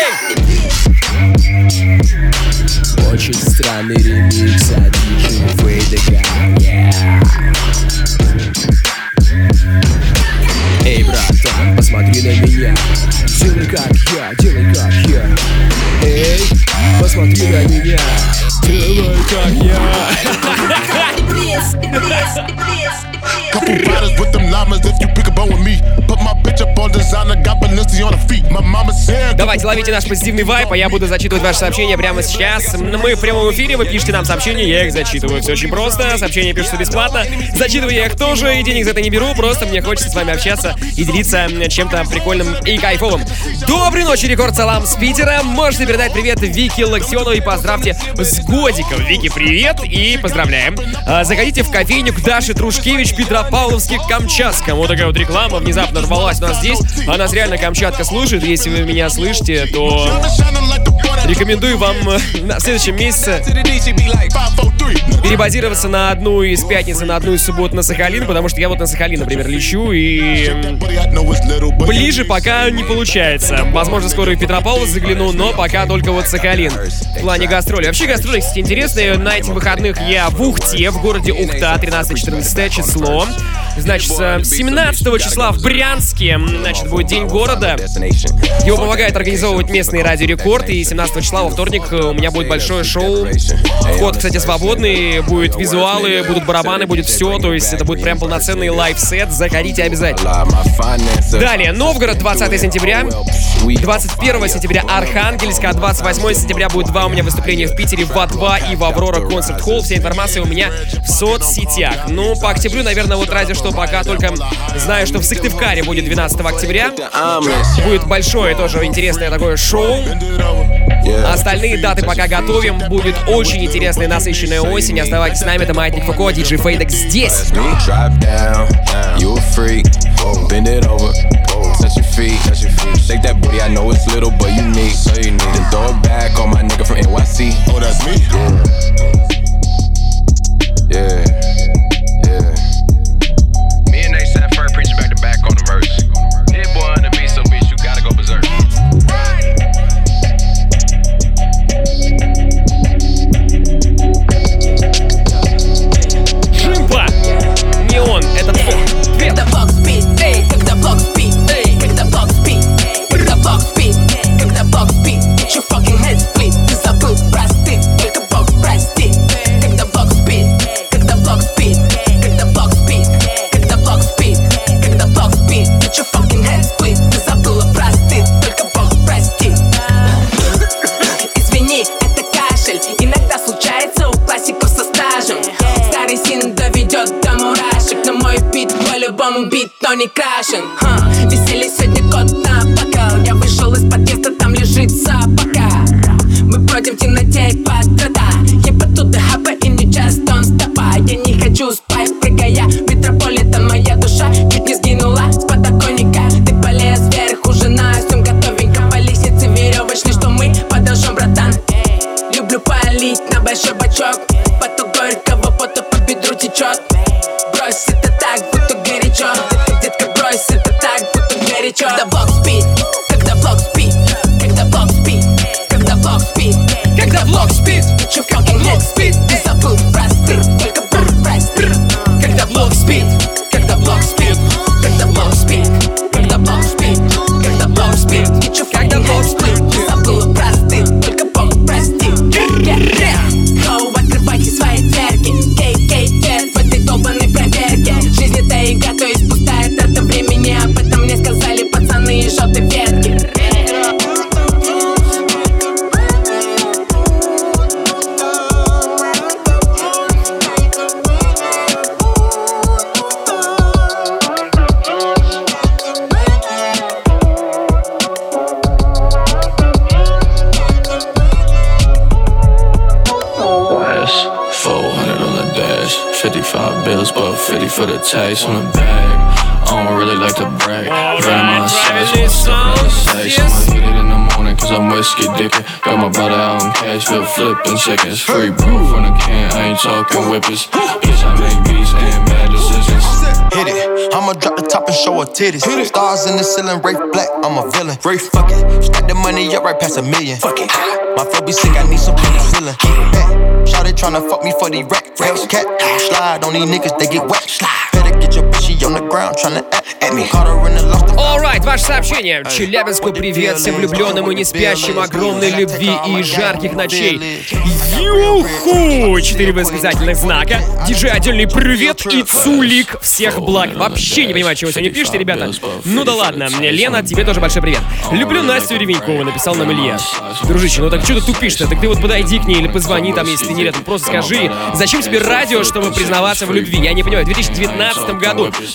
Очень странный ремикс от диджея Фейдека. Эй, братан, посмотри на меня. Делай как я, делай как я. Эй, посмотри на меня. Делай как я. Couple riders with them llamas if you pick a bone with me. Put my bitch up on designer, got Balenciaga on her feet. My mama said. Давайте ловите наш позитивный вайп, а я буду зачитывать ваши сообщения прямо сейчас. Мы в прямом эфире, вы пишите нам сообщения, я их зачитываю. Все очень просто, сообщения пишутся бесплатно. Зачитываю я их тоже, и денег за это не беру, просто мне хочется с вами общаться и делиться чем-то прикольным и кайфовым. Доброй ночи, Рекорд Салам с Питера. Можете передать привет Вике Локтионовой и поздравьте с годиком. Вики, привет и поздравляем. Заходите в кофейню к Даше Трушкевич, Петропавловске, Камчатском. Вот такая вот реклама внезапно рвалась у нас здесь. здесь, а нас реально Камчатка слушает. Если вы меня слышите, то рекомендую вам на следующем месяце перебазироваться на одну из пятницы, на одну из суббот на Сахалин, потому что я вот на Сахалин, например, лечу, и ближе пока не получается. Возможно, скоро и в Петропавловск загляну, но пока только вот Сахалин в плане гастроли. Вообще гастроли, кстати, интересные. На этих выходных я в Ухте, в городе Ухта, тринадцатое-четырнадцатое число. Значит, семнадцатого числа в Брянске, значит, будет День города. Его помогает организовывать местный Радио Рекорд, и семнадцатого числа во вторник у меня будет большое шоу. Вход, кстати, свободный, будут визуалы, будут барабаны, будет все, то есть это будет прям полноценный лайв-сет, заходите обязательно. Далее, Новгород, двадцатое сентября, двадцать первого сентября Архангельск, а двадцать восьмого сентября будет два у меня выступления в Питере в А два и в Аврора Концерт Холл. Вся информация у меня в соцсетях. Ну, по октябрю, наверное, вот разве что пока только знаю, что в Сыктывкаре будет двенадцатого октября. Будет большое тоже интересное такое шоу. Остальные даты пока готовим. Будет очень интересная насыщенная осень. Оставайтесь с нами, это Маятник Фуко, диджей Фейдек здесь. Touch your feet, touch your feet. Shake that booty, I know it's little, but you need. So you need. Then throw it back on my nigga from N Y C. Oh, that's me. Yeah, yeah. Me and A$AP Ferg preaching back to back on the verse. Hit boy on the beat, so bitch, you gotta go berserk. Шимпа! Неон, это твой. Когда бокс спит, эй, когда бокс спит, эй, когда бокс спит, когда бокс спит, когда бокс спит, get your fucking head split, ты забыл простыть, только бокс простит. Когда бокс спит, когда бокс спит, когда бокс спит, когда бокс спит, когда бокс спит, get your fucking head split, ты забыла простыть, только бокс простит. Извини, это кашель, иногда случается у классиков со стажем. Старый син доведет до мурашек, но мой бит по-любому бит, но не крашен. Ха. Веселье сегодня кот на бокал. Я вышел из подъезда, там лежит собака. Мы бродим в темноте и подрада. Я потуда хаба и не just don't stop. Я не хочу спать, прыгая метрополитен. Моя душа чуть не сгинула с подоконника. Ты полез вверх, ужиная, всем готовенько. По лестнице веревочной, что мы подожжем, братан. Люблю полить на большой бачок. Поток горького пота по бедру течет. Брось это так, будто горячо. Детка, брось это так, будто горячо. Когда бокс спит, когда бокс спит, когда бокс спит, когда бокс спит, когда бокс спит, get your fucking head spit, ты забыл простыть, только бокс простит. Когда бокс спит, когда бокс спит, когда бокс спит, когда бокс спит, когда бокс спит, get your fucking head spit, ты забыл простыть, только бокс простит. Гоу, открывайте свои дверки, кей-кей-кет в этой долбанной проверке. Жизнь это игра, то есть пустая трата времени. Об этом мне сказали пацаны из желтой ветки. fifty-five bills, but fifty for the taste on the bag. I don't really like to brag. Venom on the sides, one step on the safe. I'ma hit it in the morning, cause I'm whiskey dipping. Got my brother out on cash, flip flipping seconds. Free bro from the can, I ain't talking whippers. Bitch, I make beats and bad decisions. Hit it, I'ma drop the top and show her titties. Stars in the ceiling, Rafe Black, I'm a villain. Rafe, fuck it, stack the money up right past a million. Fuck it, my flow be sick, I need some penicillin. Shawty tryna fuck me for the rack, racks. Cat, slide on these niggas, they get wet. Better get your bitch, she on the ground tryna at me. Caught her in the lost. Alright, ваше сообщение. Челябинску привет, всем влюбленным и не спящим, огромной любви и жарких ночей. Юху! Четыре восклицательных знака. Диджей отдельный привет и цулик всех благ. Вообще не понимаю, чего сегодня пишете, ребята. Ну да ладно. Лена, тебе тоже большой привет. Люблю Настю Ревенькову, написал нам Илья. Дружище, ну так что ты тупишь-то? Так ты вот подойди к ней или позвони там, если ты не рядом. Просто скажи, зачем тебе радио, чтобы признаваться в любви? Я не понимаю, в две тысячи девятнадцатом году. Ну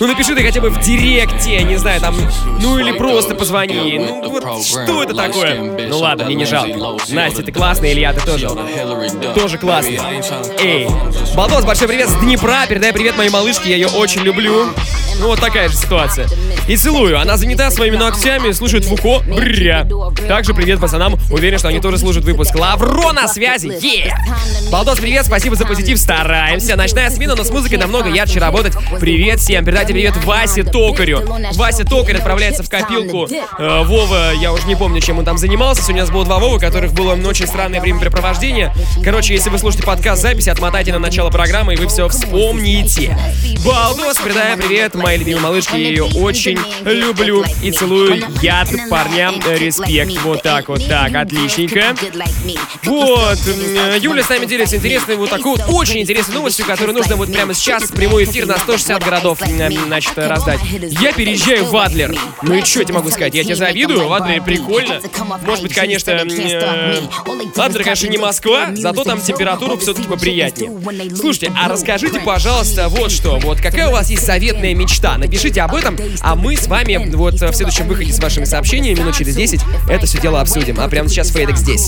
Ну напиши ты хотя бы в директе, не знаю, там, ну или просто позвони. Ну вот что это такое? Ну ладно, мне не жалко. Настя, ты классная, Илья, ты тоже. Тоже классный. Эй, Балдос, большой привет с Днепра, передай привет моей малышке, я ее очень люблю. Ну вот такая же ситуация. И целую. Она занята своими ногтями, слушает Фуко. Брря. Также привет пацанам. Уверен, что они тоже слушают выпуск. Лавро на связи. Yeah! Балдос, привет. Спасибо за позитив. Стараемся. Ночная смена, но с музыкой намного ярче работать. Привет всем. Передайте привет Васе Токарю. Вася Токарь отправляется в копилку. Э, Вова, я уже не помню, чем он там занимался. Сегодня у нас было два Вовы, у которых было очень странное времяпрепровождение. Короче, если вы слушаете подкаст записи, отмотайте на начало программы, и вы все вспомните. Балдос, передаем привет моей любимой малышке. Я ее очень люблю и целую. Яд парням. Респект. Вот так вот. Так, отличненько. Вот. Юля с нами делится интересной вот такой вот очень интересной новостью, которую нужно вот прямо сейчас в прямой эфир на сто шестьдесят городов, значит, раздать. Я переезжаю в Адлер. Ну и что я тебе могу сказать? Я тебе завидую. В Адлере прикольно. Может быть, конечно, э, Адлер, конечно, не Москва, зато там температура все-таки поприятнее. Слушайте, а расскажите, пожалуйста, вот что. Вот какая у вас есть заветная мечта? Напишите об этом, а мы с вами вот в следующем выходе с вашими сообщениями минут через десять это все дело обсудим. А прямо сейчас Фейдек здесь.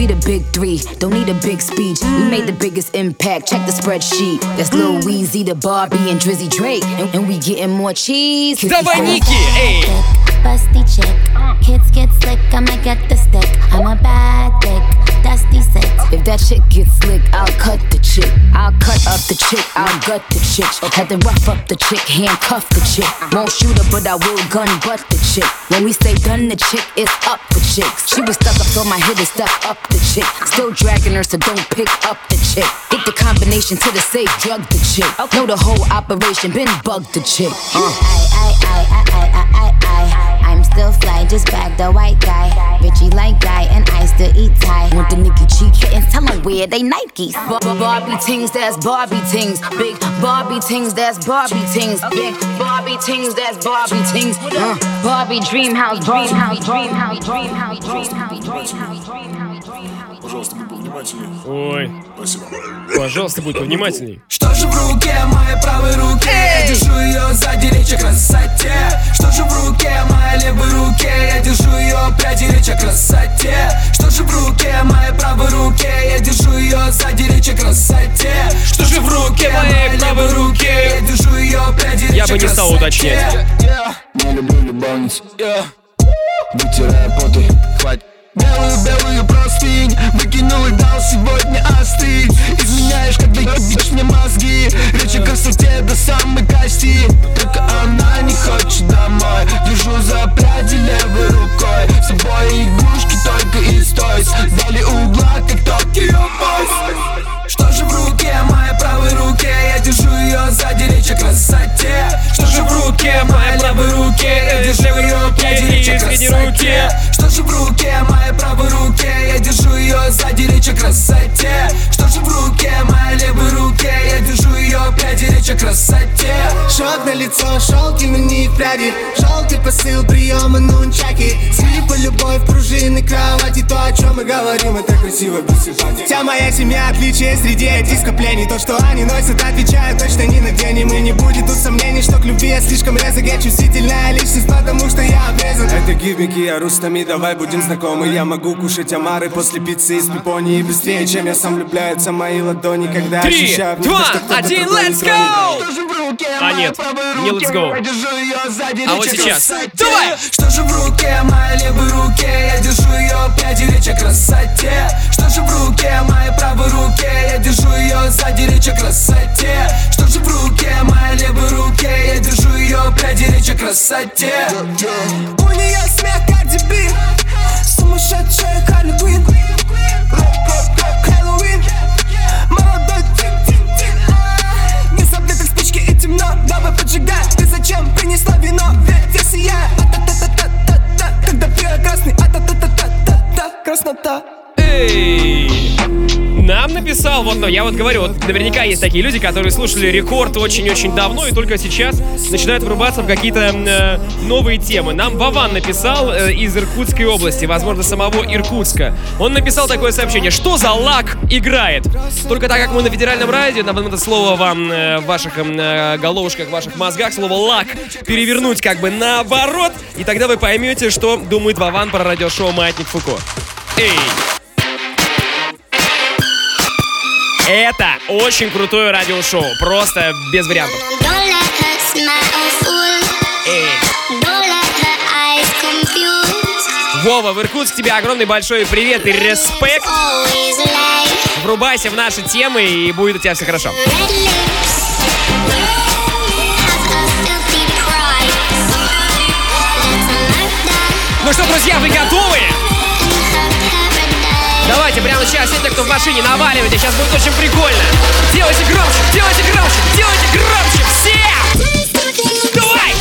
Давай, Ники! Эй! Busty chick, kids get slick, I might get the stick. I'm a bad dick, dusty six. If that chick gets slick, I'll cut the chick. I'll cut up the chick, I'll gut the chick. Had to rough up the chick, handcuff the chick. Won't shoot her, but I will gun butt the chick. When we say done the chick, it's up for chicks. She was stuck up, so my hit is stuck up the chick. Still dragging her, so don't pick up the chick. Get the combination to the safe, drug the chick. Know the whole operation, been bugged the chick. Uh. I, I, I, I, I, I, I. I'm still fly, just bag the white guy. Richie like guy, and I still eat Thai. Want the Nicki G kittens, tell them where they Nikes. Bar- Barbie tings, that's Barbie tings. Big Barbie tings, that's Barbie tings. Big Barbie tings, that's Barbie tings. Uh, Barbie dream house, dream house, dream house, dream house, dream house, dream house, dream house, dream house. Пожалуйста, будь повнимательней. Ой. Спасибо. Пожалуйста, будь повнимательней. Что же в руке моей правой руке? Я держу ее сзади, речь о красоте. Что же в руке моей левой руке? Я держу ее пряди, речь о красоте. Что же в руке моей правой руке? Я держу ее сзади, речь о красоте. Что же в руке моей правой руке? Я держу ее пряди, речь о красоте. Я бы не стал уточнять. Не люблю любовниц. Вытирая поты, хватит. Белую-белую простынь выкинул и дал сегодня остыть. Изменяешь, когда ебишь мне мозги. Речь о красоте до самой кости. Только она не хочет домой. Держу за пряди левой рукой. С собой игрушки только из тойс. Вдали угла, как Токио Бойс. Что же в руке моей правой руке? Я держу ее сзади, речь о красоте. Что же в руке моей левой руке? Я держу ее пряди, речь о красоте. Что же в руке моей правой руке? Я держу ее сзади, речь о красоте. Что же в руке моей левой руке? Я держу ее пряди, речь о красоте. Шок на лицо, шелки на них пряди. Желтый посыл, приема нунчаки. Слипа, любовь, пружины, кровати. То, о чем мы говорим, это красиво, без симпатии. Вся моя семья отличие среди этих скоплений. То, что они носят, отвечают точно ни на день. И мы не будет тут сомнений, что к любви я слишком резок. Я чувствительная личность, потому что я обрезан. Это гибники, я рустами, давай будем знакомы. Я могу кушать омары после пиццы из пепонии. Быстрее, чем я сам влюбляются мои ладони. Когда Три, ощущаю, два, что один, let's go! А нет, не let's go. А вот сейчас. Давай! Что же в руке моей левой руке? Я держу ее пряди, речь о красоте. Что же в руке моей правой руке? Я держу ее сзади, речь о красоте. Что же в руке моей левой руке? Я держу ее пряди, речь о красоте. У нее смех Карди Би, сумасшедшая Харли Квинн. Хэллоуин, молодой тик-тик-тик. Не забыты как спички и темно, давай поджигай. Ты зачем принесла вино? Ведь я сияю. А-та-та-та-та-та-та. Когда пьет красный, а-та-та-та-та-та-та. Краснота. Эй! Нам написал, вот, ну, я вот говорю, вот наверняка есть такие люди, которые слушали Рекорд очень-очень давно и только сейчас начинают врубаться в какие-то э, новые темы. Нам Вован написал э, из Иркутской области, возможно, самого Иркутска. Он написал такое сообщение: что за лак играет? Только так как мы на федеральном радио, нам это слово вам э, в ваших э, головушках, в ваших мозгах, слово лак перевернуть как бы наоборот, и тогда вы поймете, что думает Вован про радиошоу «Маятник Фуко». Эй! Это очень крутое радиошоу, просто без вариантов. Эй. Вова, в Иркутск тебе огромный большой привет и респект. Врубайся в наши темы, и будет у тебя все хорошо. Ну что, друзья, вы готовы? Давайте прямо сейчас все те, кто в машине, наваливайте. Сейчас будет очень прикольно. Делайте громче, делайте громче, делайте громче. Все! Давай!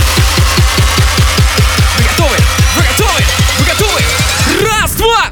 Вы готовы? Вы готовы? Вы готовы? Раз, два!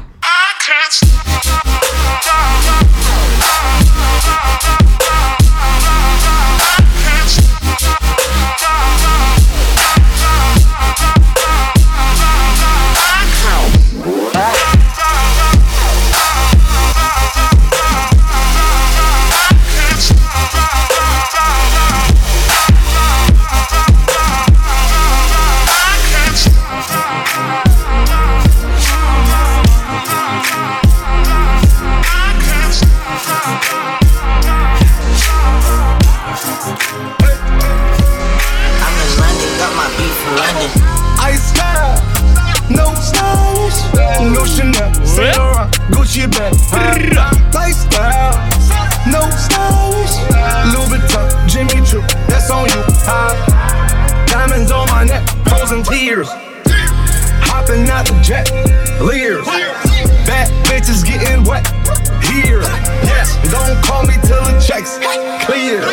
Gucci bag, lifestyle, no stylish, Louis Vuitton, Jimmy Choo, that's on you. Uh, diamonds on my neck, frozen tears, hopping out the jet, Lears, bad bitches getting wet here. Yes, don't call me till the checks clear.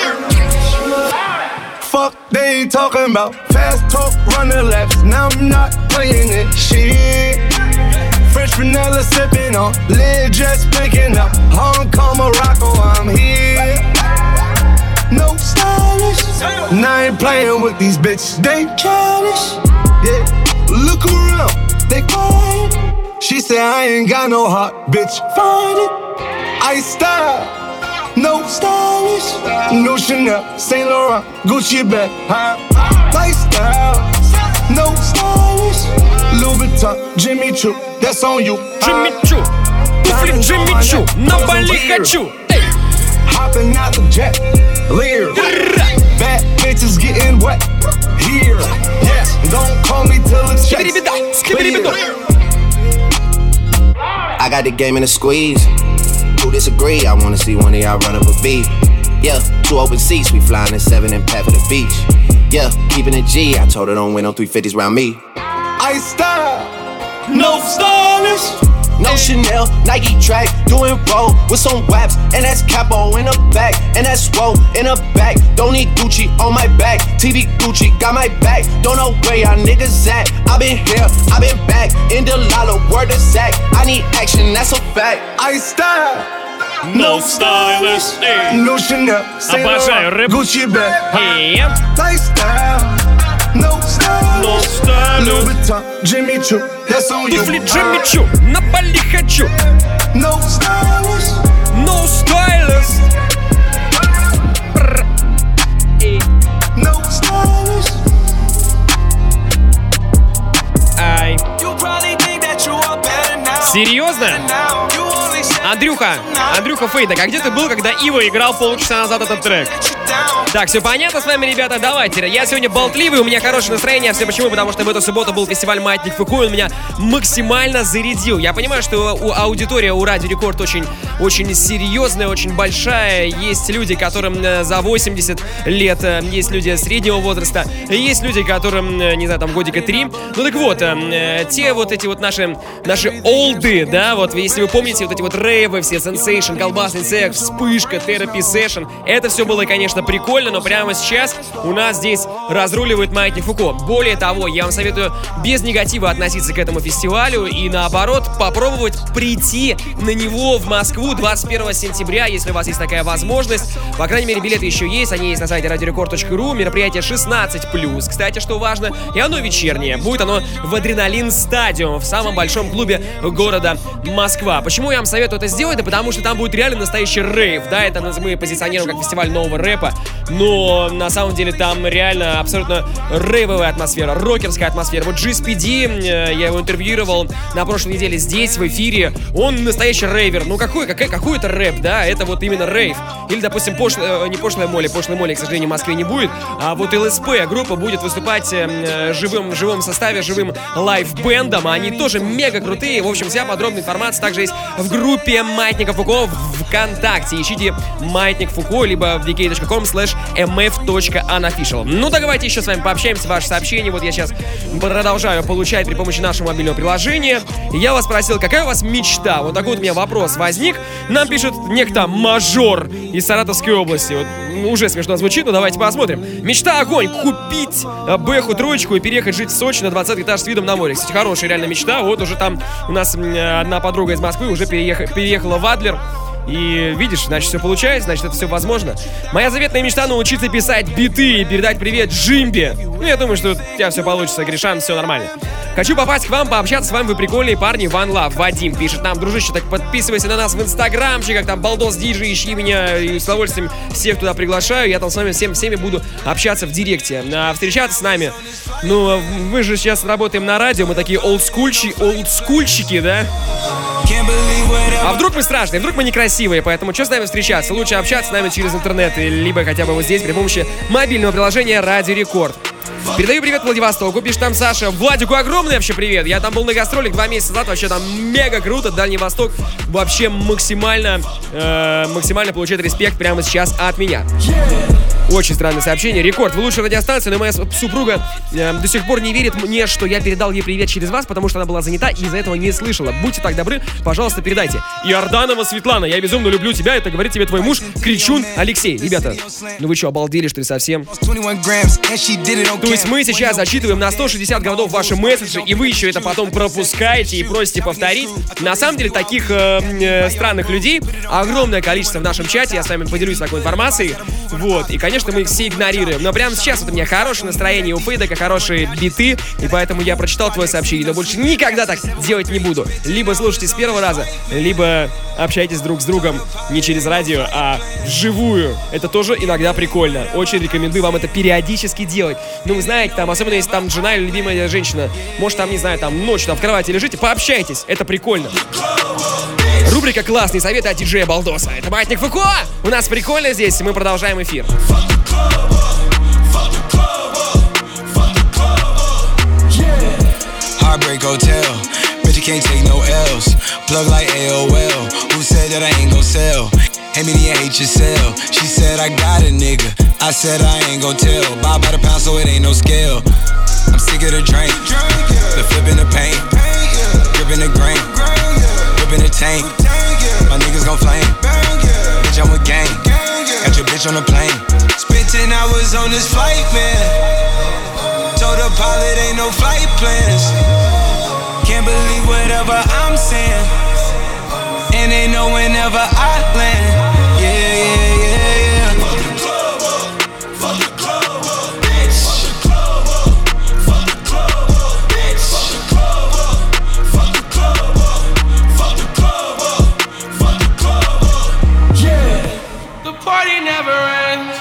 Fuck they ain't talking about, fast talk, run the laps. Now I'm not playing it, shit. Fresh vanilla sipping on, lid just picking up. Hong Kong, Morocco, I'm here. No stylish, and I ain't playing with these bitches. They childish, yeah. Look around, they quiet. She said I ain't got no heart, bitch. Find it. I style, no stylish, no Chanel, Saint Laurent, Gucci bag, huh? Lifestyle, no stylish, Louis Vuitton, Jimmy Choo. That's on you. Jimmy Choo, туфли Jimmy Choo, на Бали хочу. Hopping out the jet, Lear. Bad bitches getting wet here. Yes, don't call me till it's clear. I got the game in a squeeze. Who disagree? I wanna see one of y'all run up a beat. Yeah, two open seats, we flying in seven and pat for the beach. Yeah, keeping it G. I told her don't win no three fifties round me. I style. No stylish, no Chanel, Nike track, doing roll with some waps, and that's capo in the back, and that's roll in the back. Don't need Gucci on my back, T V Gucci got my back. Don't know where y'all niggas at. I been here, I been back, in the lala, word of Zach. I need action, that's a fact. I style. No stylish, no Chanel, обожаю рэп. Gucci bag, hey. Lifestyle. No style, no style, Louis Vuitton, Jimmy Choo, that's on you. Туфли Jimmy Choo, на Бали хочу. No stylist, no stylist, no stylist. Ай. Серьезно? Андрюха, Андрюха Фейдак, а где ты был, когда Ива играл полчаса назад этот трек? Так, все понятно с вами, ребята, давайте. Я сегодня болтливый, у меня хорошее настроение. Все почему? Потому что в эту субботу был фестиваль «Маятник Фуко», он меня максимально зарядил. Я понимаю, что у аудитория у Радио Рекорд очень, очень серьезная, очень большая. Есть люди, которым за восемьдесят лет, есть люди среднего возраста, есть люди, которым, не знаю, там годика три. Ну так вот, те вот эти вот наши, наши олды, да, вот если вы помните вот эти вот рейвы, все сенсейшн, колбасный секс, вспышка, терапи сессион, это все было, конечно, прикольно. Но прямо сейчас у нас здесь разруливает Маятник Фуко. Более того, я вам советую без негатива относиться к этому фестивалю и, наоборот, попробовать прийти на него в Москву двадцать первого сентября, если у вас есть такая возможность. По крайней мере, билеты еще есть, они есть на сайте радио рекорд точка ру. Мероприятие шестнадцать плюс, кстати, что важно, и оно вечернее. Будет оно в Адреналин Стадиум, в самом большом клубе города Москва. Почему я вам советую это сделать? Да потому что там будет реально настоящий рейв. Да, это мы позиционируем как фестиваль нового рэпа, но на самом деле там реально абсолютно рейвовая атмосфера, рокерская атмосфера. Вот джи эс пи ди, я его интервьюировал на прошлой неделе здесь, в эфире. Он настоящий рейвер. Ну какой, какой, какой это рэп, да? Это вот именно рейв. Или, допустим, пошлая, не пошлая Молли, пошлая Молли, к сожалению, в Москве не будет. А вот эл эс пи группа будет выступать э, живым, живым составе, живым лайв-бендом. Они тоже мега крутые. В общем, вся подробная информация также есть в группе Маятника Фуко в ВКонтакте. Ищите Маятник Фуко, либо в ви кей точка ком слэш эм эф точка анофишиал. Ну, так давайте еще с вами пообщаемся. Ваши сообщения вот я сейчас продолжаю получать при помощи нашего мобильного приложения. Я вас спросил, какая у вас мечта? Вот такой вот у меня вопрос возник. Нам пишет некто Мажор из Саратовской области. Вот, ну, уже смешно звучит, но давайте посмотрим. Мечта огонь. Купить Бэху троечку и переехать жить в Сочи на двадцатый этаж с видом на море. Кстати, хорошая реально мечта. Вот уже там у нас одна подруга из Москвы уже переех... переехала в Адлер. И видишь, значит, все получается, значит, это все возможно. Моя заветная мечта — научиться писать биты и передать привет Джимбе. Ну, я думаю, что у тебя все получится, Гришан, все нормально. Хочу попасть к вам, пообщаться с вами, вы прикольные парни. One Love. Вадим пишет нам: дружище, так подписывайся на нас в инстаграмчиках, там Балдос Диджей, ищи меня, и с удовольствием всех туда приглашаю. Я там с вами всем, всеми буду общаться в директе. А встречаться с нами, ну, мы же сейчас работаем на радио, мы такие олдскульчи, олдскульчики, да? А вдруг мы страшные, вдруг мы некрасивые, поэтому что с нами встречаться? Лучше общаться с нами через интернет, либо хотя бы вот здесь при помощи мобильного приложения Радио Рекорд. Передаю привет Владивостоку, пишет там Саша. Владику огромный вообще привет. Я там был на гастролях два месяца назад, вообще там мега круто. Дальний Восток вообще максимально, э, максимально получает респект прямо сейчас от меня. Очень странное сообщение. Рекорд, вы лучшая радиостанция, но моя супруга э, до сих пор не верит мне, что я передал ей привет через вас, потому что она была занята и из-за этого не слышала. Будьте так добры, пожалуйста, передайте. Иорданова Светлана, я безумно люблю тебя, это говорит тебе твой муж Кричун Алексей. Ребята, ну вы что, обалдели, что ли, совсем? То есть мы сейчас зачитываем на сто шестьдесят годов ваши месседжи, и вы еще это потом пропускаете и просите повторить. На самом деле таких э, э, странных людей огромное количество в нашем чате, я с вами поделюсь такой информацией. Вот, и, конечно, мы их все игнорируем. Но прямо сейчас вот у меня хорошее настроение, у Фейдека хорошие биты, и поэтому я прочитал твое сообщение, но больше никогда так делать не буду. Либо слушайте с первого раза, либо общайтесь друг с другом не через радио, а вживую. Это тоже иногда прикольно. Очень рекомендую вам это периодически делать. Ну, вы знаете, там, особенно если там жена или любимая женщина, может, там, не знаю, там, ночью там в кровати лежите, пообщайтесь, это прикольно. Рубрика «Классные советы от диджея Балдоса». Это Маятник Фуко. У нас прикольно здесь, мы продолжаем эфир. Heartbreak Hotel, bitch, you can't take no L's. Plug like A O L, who said that I ain't gon' sell? Hate me, you hate yourself. She said I got a nigga, I said I ain't gon' tell. Buy by the pound so it ain't no scale. I'm sick of the drink, the flipping the paint, gripping the grain, whipping the tank. My niggas gon' flame, bitch, I'm with gang. Got your bitch on the plane. Spent ten hours on this flight, man. Told the pilot ain't no flight plans. Can't believe whatever I'm saying. And they know whenever I land. Yeah, yeah, yeah, yeah. Fuck the club up, fuck the club up, bitch. Fuck the club up, bitch. Fuck the club up, fuck the club up, fuck the club up, fuck the club up. Yeah. The party never ends.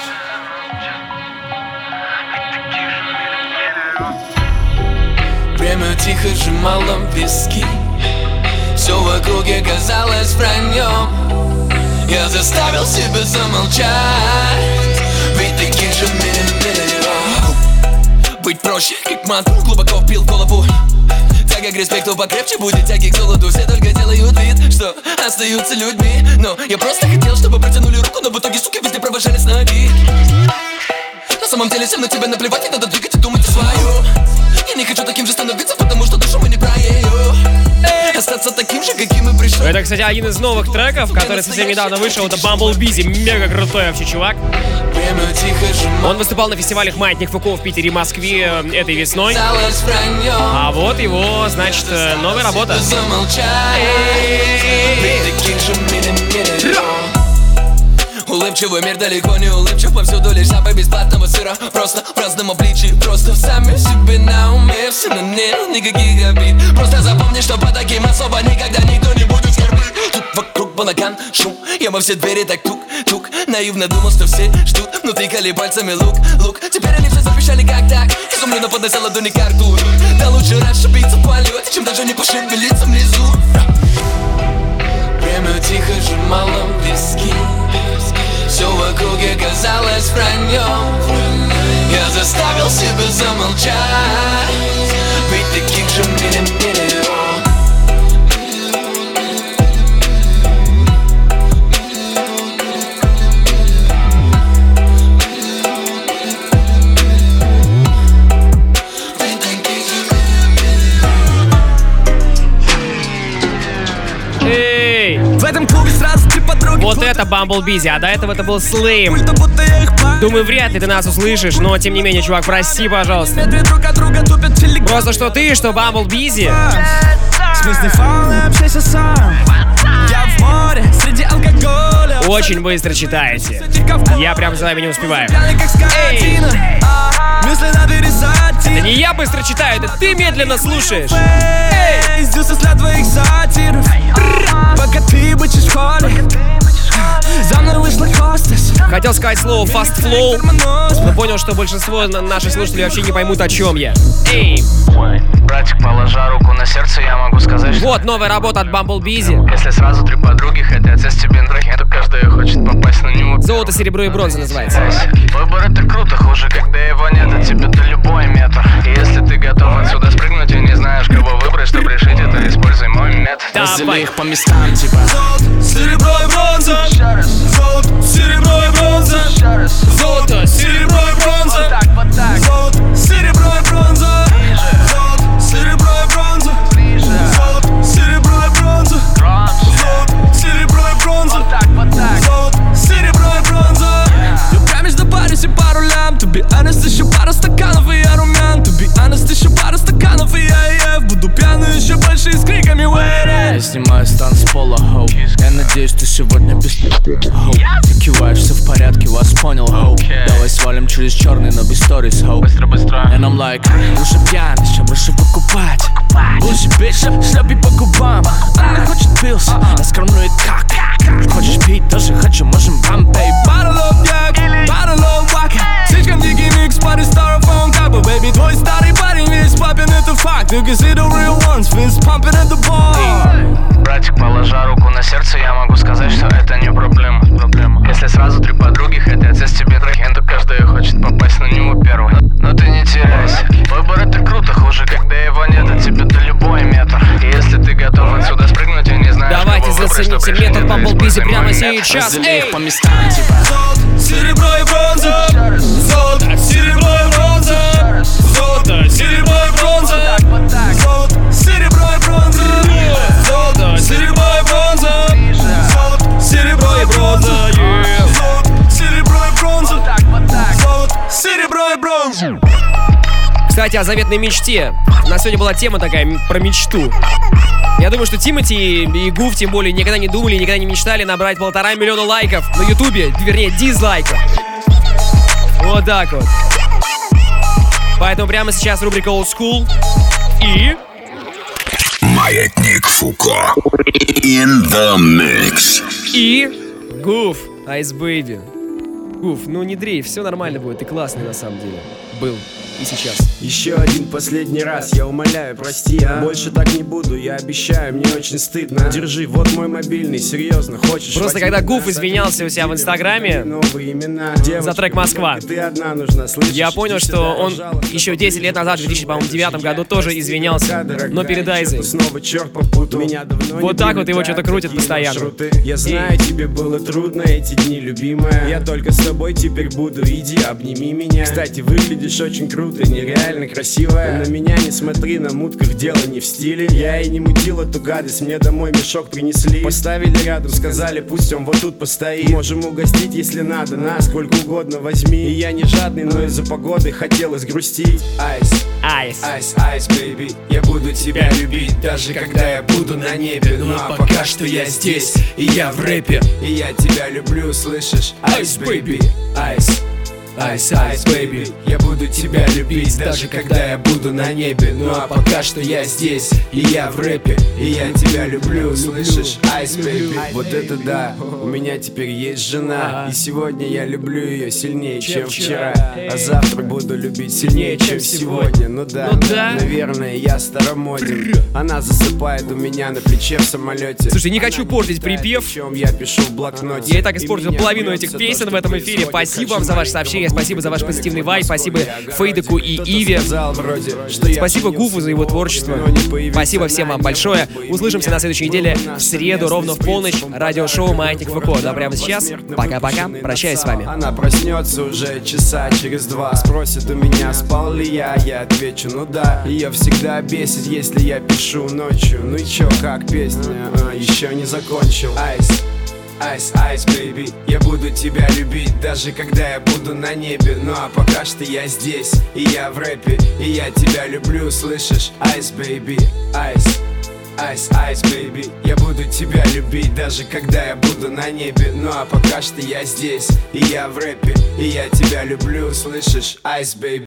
Время тихо сжимало виски. Все в округе казалось враньем. Я заставил себя замолчать, ведь таких же миллион. Быть проще, как мантру, глубоко впил в голову. Тяга к респекту покрепче будет тяги к золоту. Все только делают вид, что остаются людьми. Но я просто хотел, чтобы протянули руку, но в итоге, суки, везде провожали с ноги. На самом деле всем на тебя наплевать, не надо двигать и думать свою. Я не хочу таким же становиться, потому что душу мы не про ее. Остаться оставаться таким же, каким и пришел. Это, кстати, один из новых треков, который совсем недавно вышел. Это Bumble Busy. Мега крутой вообще чувак. Он выступал на фестивалях «Маятник Фуко» в Питере и Москве этой весной. А вот его, значит, новая работа. Улыбчивый мир далеко не улыбчив, повсюду лишь запах бесплатного сыра. Просто в разном обличии, просто сами себе на уме. Все на нет, никаких обид. Просто запомни, что по таким особо никогда никто не будет скорбить. Тут вокруг балаган, шум, я во все двери так тук-тук. Наивно думал, что все ждут, но тыкали пальцами лук, лук. Теперь они все запищали как так, изумленно поднося ладони к рту. Да лучше расшибиться в полете, чем даже не пошевелиться внизу. Время тихо сжимало виски, все в округе казалось враньем. Я заставил себя замолчать, ведь таких же миллион. В этом клубе сразу три подруги. Вот это Bumble Busy, а до этого это был Slim. Думаю, вряд ли ты нас услышишь, но тем не менее, чувак, прости, пожалуйста. Просто что ты, что Bumble Busy. Очень быстро читаете. Я прям за вами не успеваю. Эй! Это не я быстро читаю, это ты медленно слушаешь. Эй! Пока ты бычишь в холле, за мной вышла хостес. Хотел сказать слово fast flow, но понял, что большинство наших слушателей вообще не поймут, о чем я. Эй! Братик, положа руку на сердце, я могу сказать, что... Вот новая работа от Bumble Busy. Если сразу три подруги хотят сесть тебе на рахе, то каждая хочет попасть на него. Золото, серебро и бронза называется. Выбор это круто, хуже, когда его нет, от тебя до любой метр. И если ты готов отсюда спрыгнуть и не знаешь, кого выбрать, чтобы решить это, используй мой метод. Раздели их по местам, типа Золото, серебро и бронза. Золото, серебро и бронза. Золото, серебро и бронза. Золото, серебро и бронза. Золото, серебро и бронза. Золото, серебро и бронза. Золото, серебро и бронза. Золото, серебро и бронза. Я прям между Париж и пару лям. To be honest, еще пару стаканов и я румян. To be honest, еще пару стаканов и я ев. Буду пьяный еще больше и с криками wait. Я снимаю с танцпола, хоу. Я надеюсь, ты сегодня без хоу. Ты киваешь, все в порядке, вас понял, хоу. Давай свалим через черный, но без сторис, хоу. Быстро, быстро. And I'm like, уже пьяный, чем прошу покупать. Буззи, бич, шлепи по губам. Она хочет пилс, раскормлюет как. Хочешь пить, тоже хочу, можем бампей. Bottle of yak, bottle of waka. Слишком дикий микс, парень styrofoam капа. Baby, твой старый парень весь папин, это факт. You can see the real ones, fist pumping at the bar. Братик, положа руку на сердце, я могу сказать, что это не проблема, проблема. Если сразу три подруги хотят сесть тебе трахен, то каждая хочет попасть на него первой. Но ты не теряйся, выбор это круто, хуже, когда его нет, от тебя до любой метр. И если ты готов отсюда спрыгнуть и не знаешь, давайте зацените метод Bumble Busy прямо сейчас. Эй! По местам, типа Золото, серебро и бронза. Золото, серебро и бронза. Золото, серебро и бронза. Золото, серебро и бронза. Золото, серебро и бронза. Золото, серебро и бронза. Золото, серебро и бронза. Золото, серебро и бронза. Кстати, о заветной мечте. У нас сегодня была тема такая про мечту. Я думаю, что Тимати и Гуф, тем более, никогда не думали, никогда не мечтали набрать полтора миллиона лайков на Ютубе, вернее, дизлайков. Вот так вот. Поэтому прямо сейчас рубрика Old School и... Маятник Фуко. In the mix. И... Гуф, Ice Baby. Гуф, ну не дрейф, все нормально будет, ты классный на самом деле. Был. И сейчас. Еще один последний раз, я умоляю, прости, а? Больше так не буду, я обещаю, мне очень стыдно. Держи, вот мой мобильный, серьезно, хочешь? Просто когда Гуф извинялся у себя в Инстаграме за трек «Москва», я понял, что он еще десять лет назад, в две тысячи девятом году, тоже извинялся, но перед Айзой. Вот так вот его что-то крутит постоянно. Я знаю, тебе было трудно эти дни, любимая. Я только с тобой теперь буду, иди, обними меня. Кстати, выглядишь очень круто. круто, нереально красивая. На меня не смотри, на мутках дело не в стиле. Я и не мутил эту гадость, мне домой мешок принесли. Поставили рядом, сказали, пусть он вот тут постоит. Можем угостить, если надо, на сколько угодно возьми. И я не жадный, но из-за погоды хотелось грустить. Айс, айс, айс, айс, бэйби, я буду тебя любить, даже когда я буду на небе. Ну а пока что я здесь, и я в рэпе. И я тебя люблю, слышишь? Айс, бэйби, айс. Айс, айс, бэйби, я буду тебя любить, даже когда я буду на небе. Ну а пока что я здесь, и я в рэпе. И я тебя люблю, слышишь? Айс, бэйби. Вот это да, у меня теперь есть жена. И сегодня я люблю ее сильнее, чем вчера. А завтра буду любить сильнее, чем сегодня. Ну да, наверное, я старомоден. Она засыпает у меня на плече в самолете. Слушай, не хочу портить припев. Я пишу в блокноте. Я и так испортил половину этих песен в этом эфире. Спасибо вам за ваше сообщение. Спасибо за ваш позитивный вайб, спасибо Фейдеку и Иве. Спасибо Гуфу за его творчество. Спасибо всем вам большое. Услышимся на следующей неделе в среду ровно в полночь. Радиошоу Маятник ФК. Да, прямо сейчас. Пока-пока. Прощаюсь с вами. Она проснется уже часа через два. Спросит у меня, спал ли я. Я отвечу, ну да. Ее всегда бесит, если я пишу ночью. Ну и чё, как песня? А, еще не закончил. Айс. Айс, айс, бэйби, я буду тебя любить, даже когда я буду на небе. Ну а пока что я здесь, и я в рэпе. И я тебя люблю, слышишь? Айс, бэйби, айс. Айс, айс, бэйби, я буду тебя любить, даже когда я буду на небе. Ну а пока что я здесь, и я в рэпе. И я тебя люблю, слышишь? Айс, бэйби.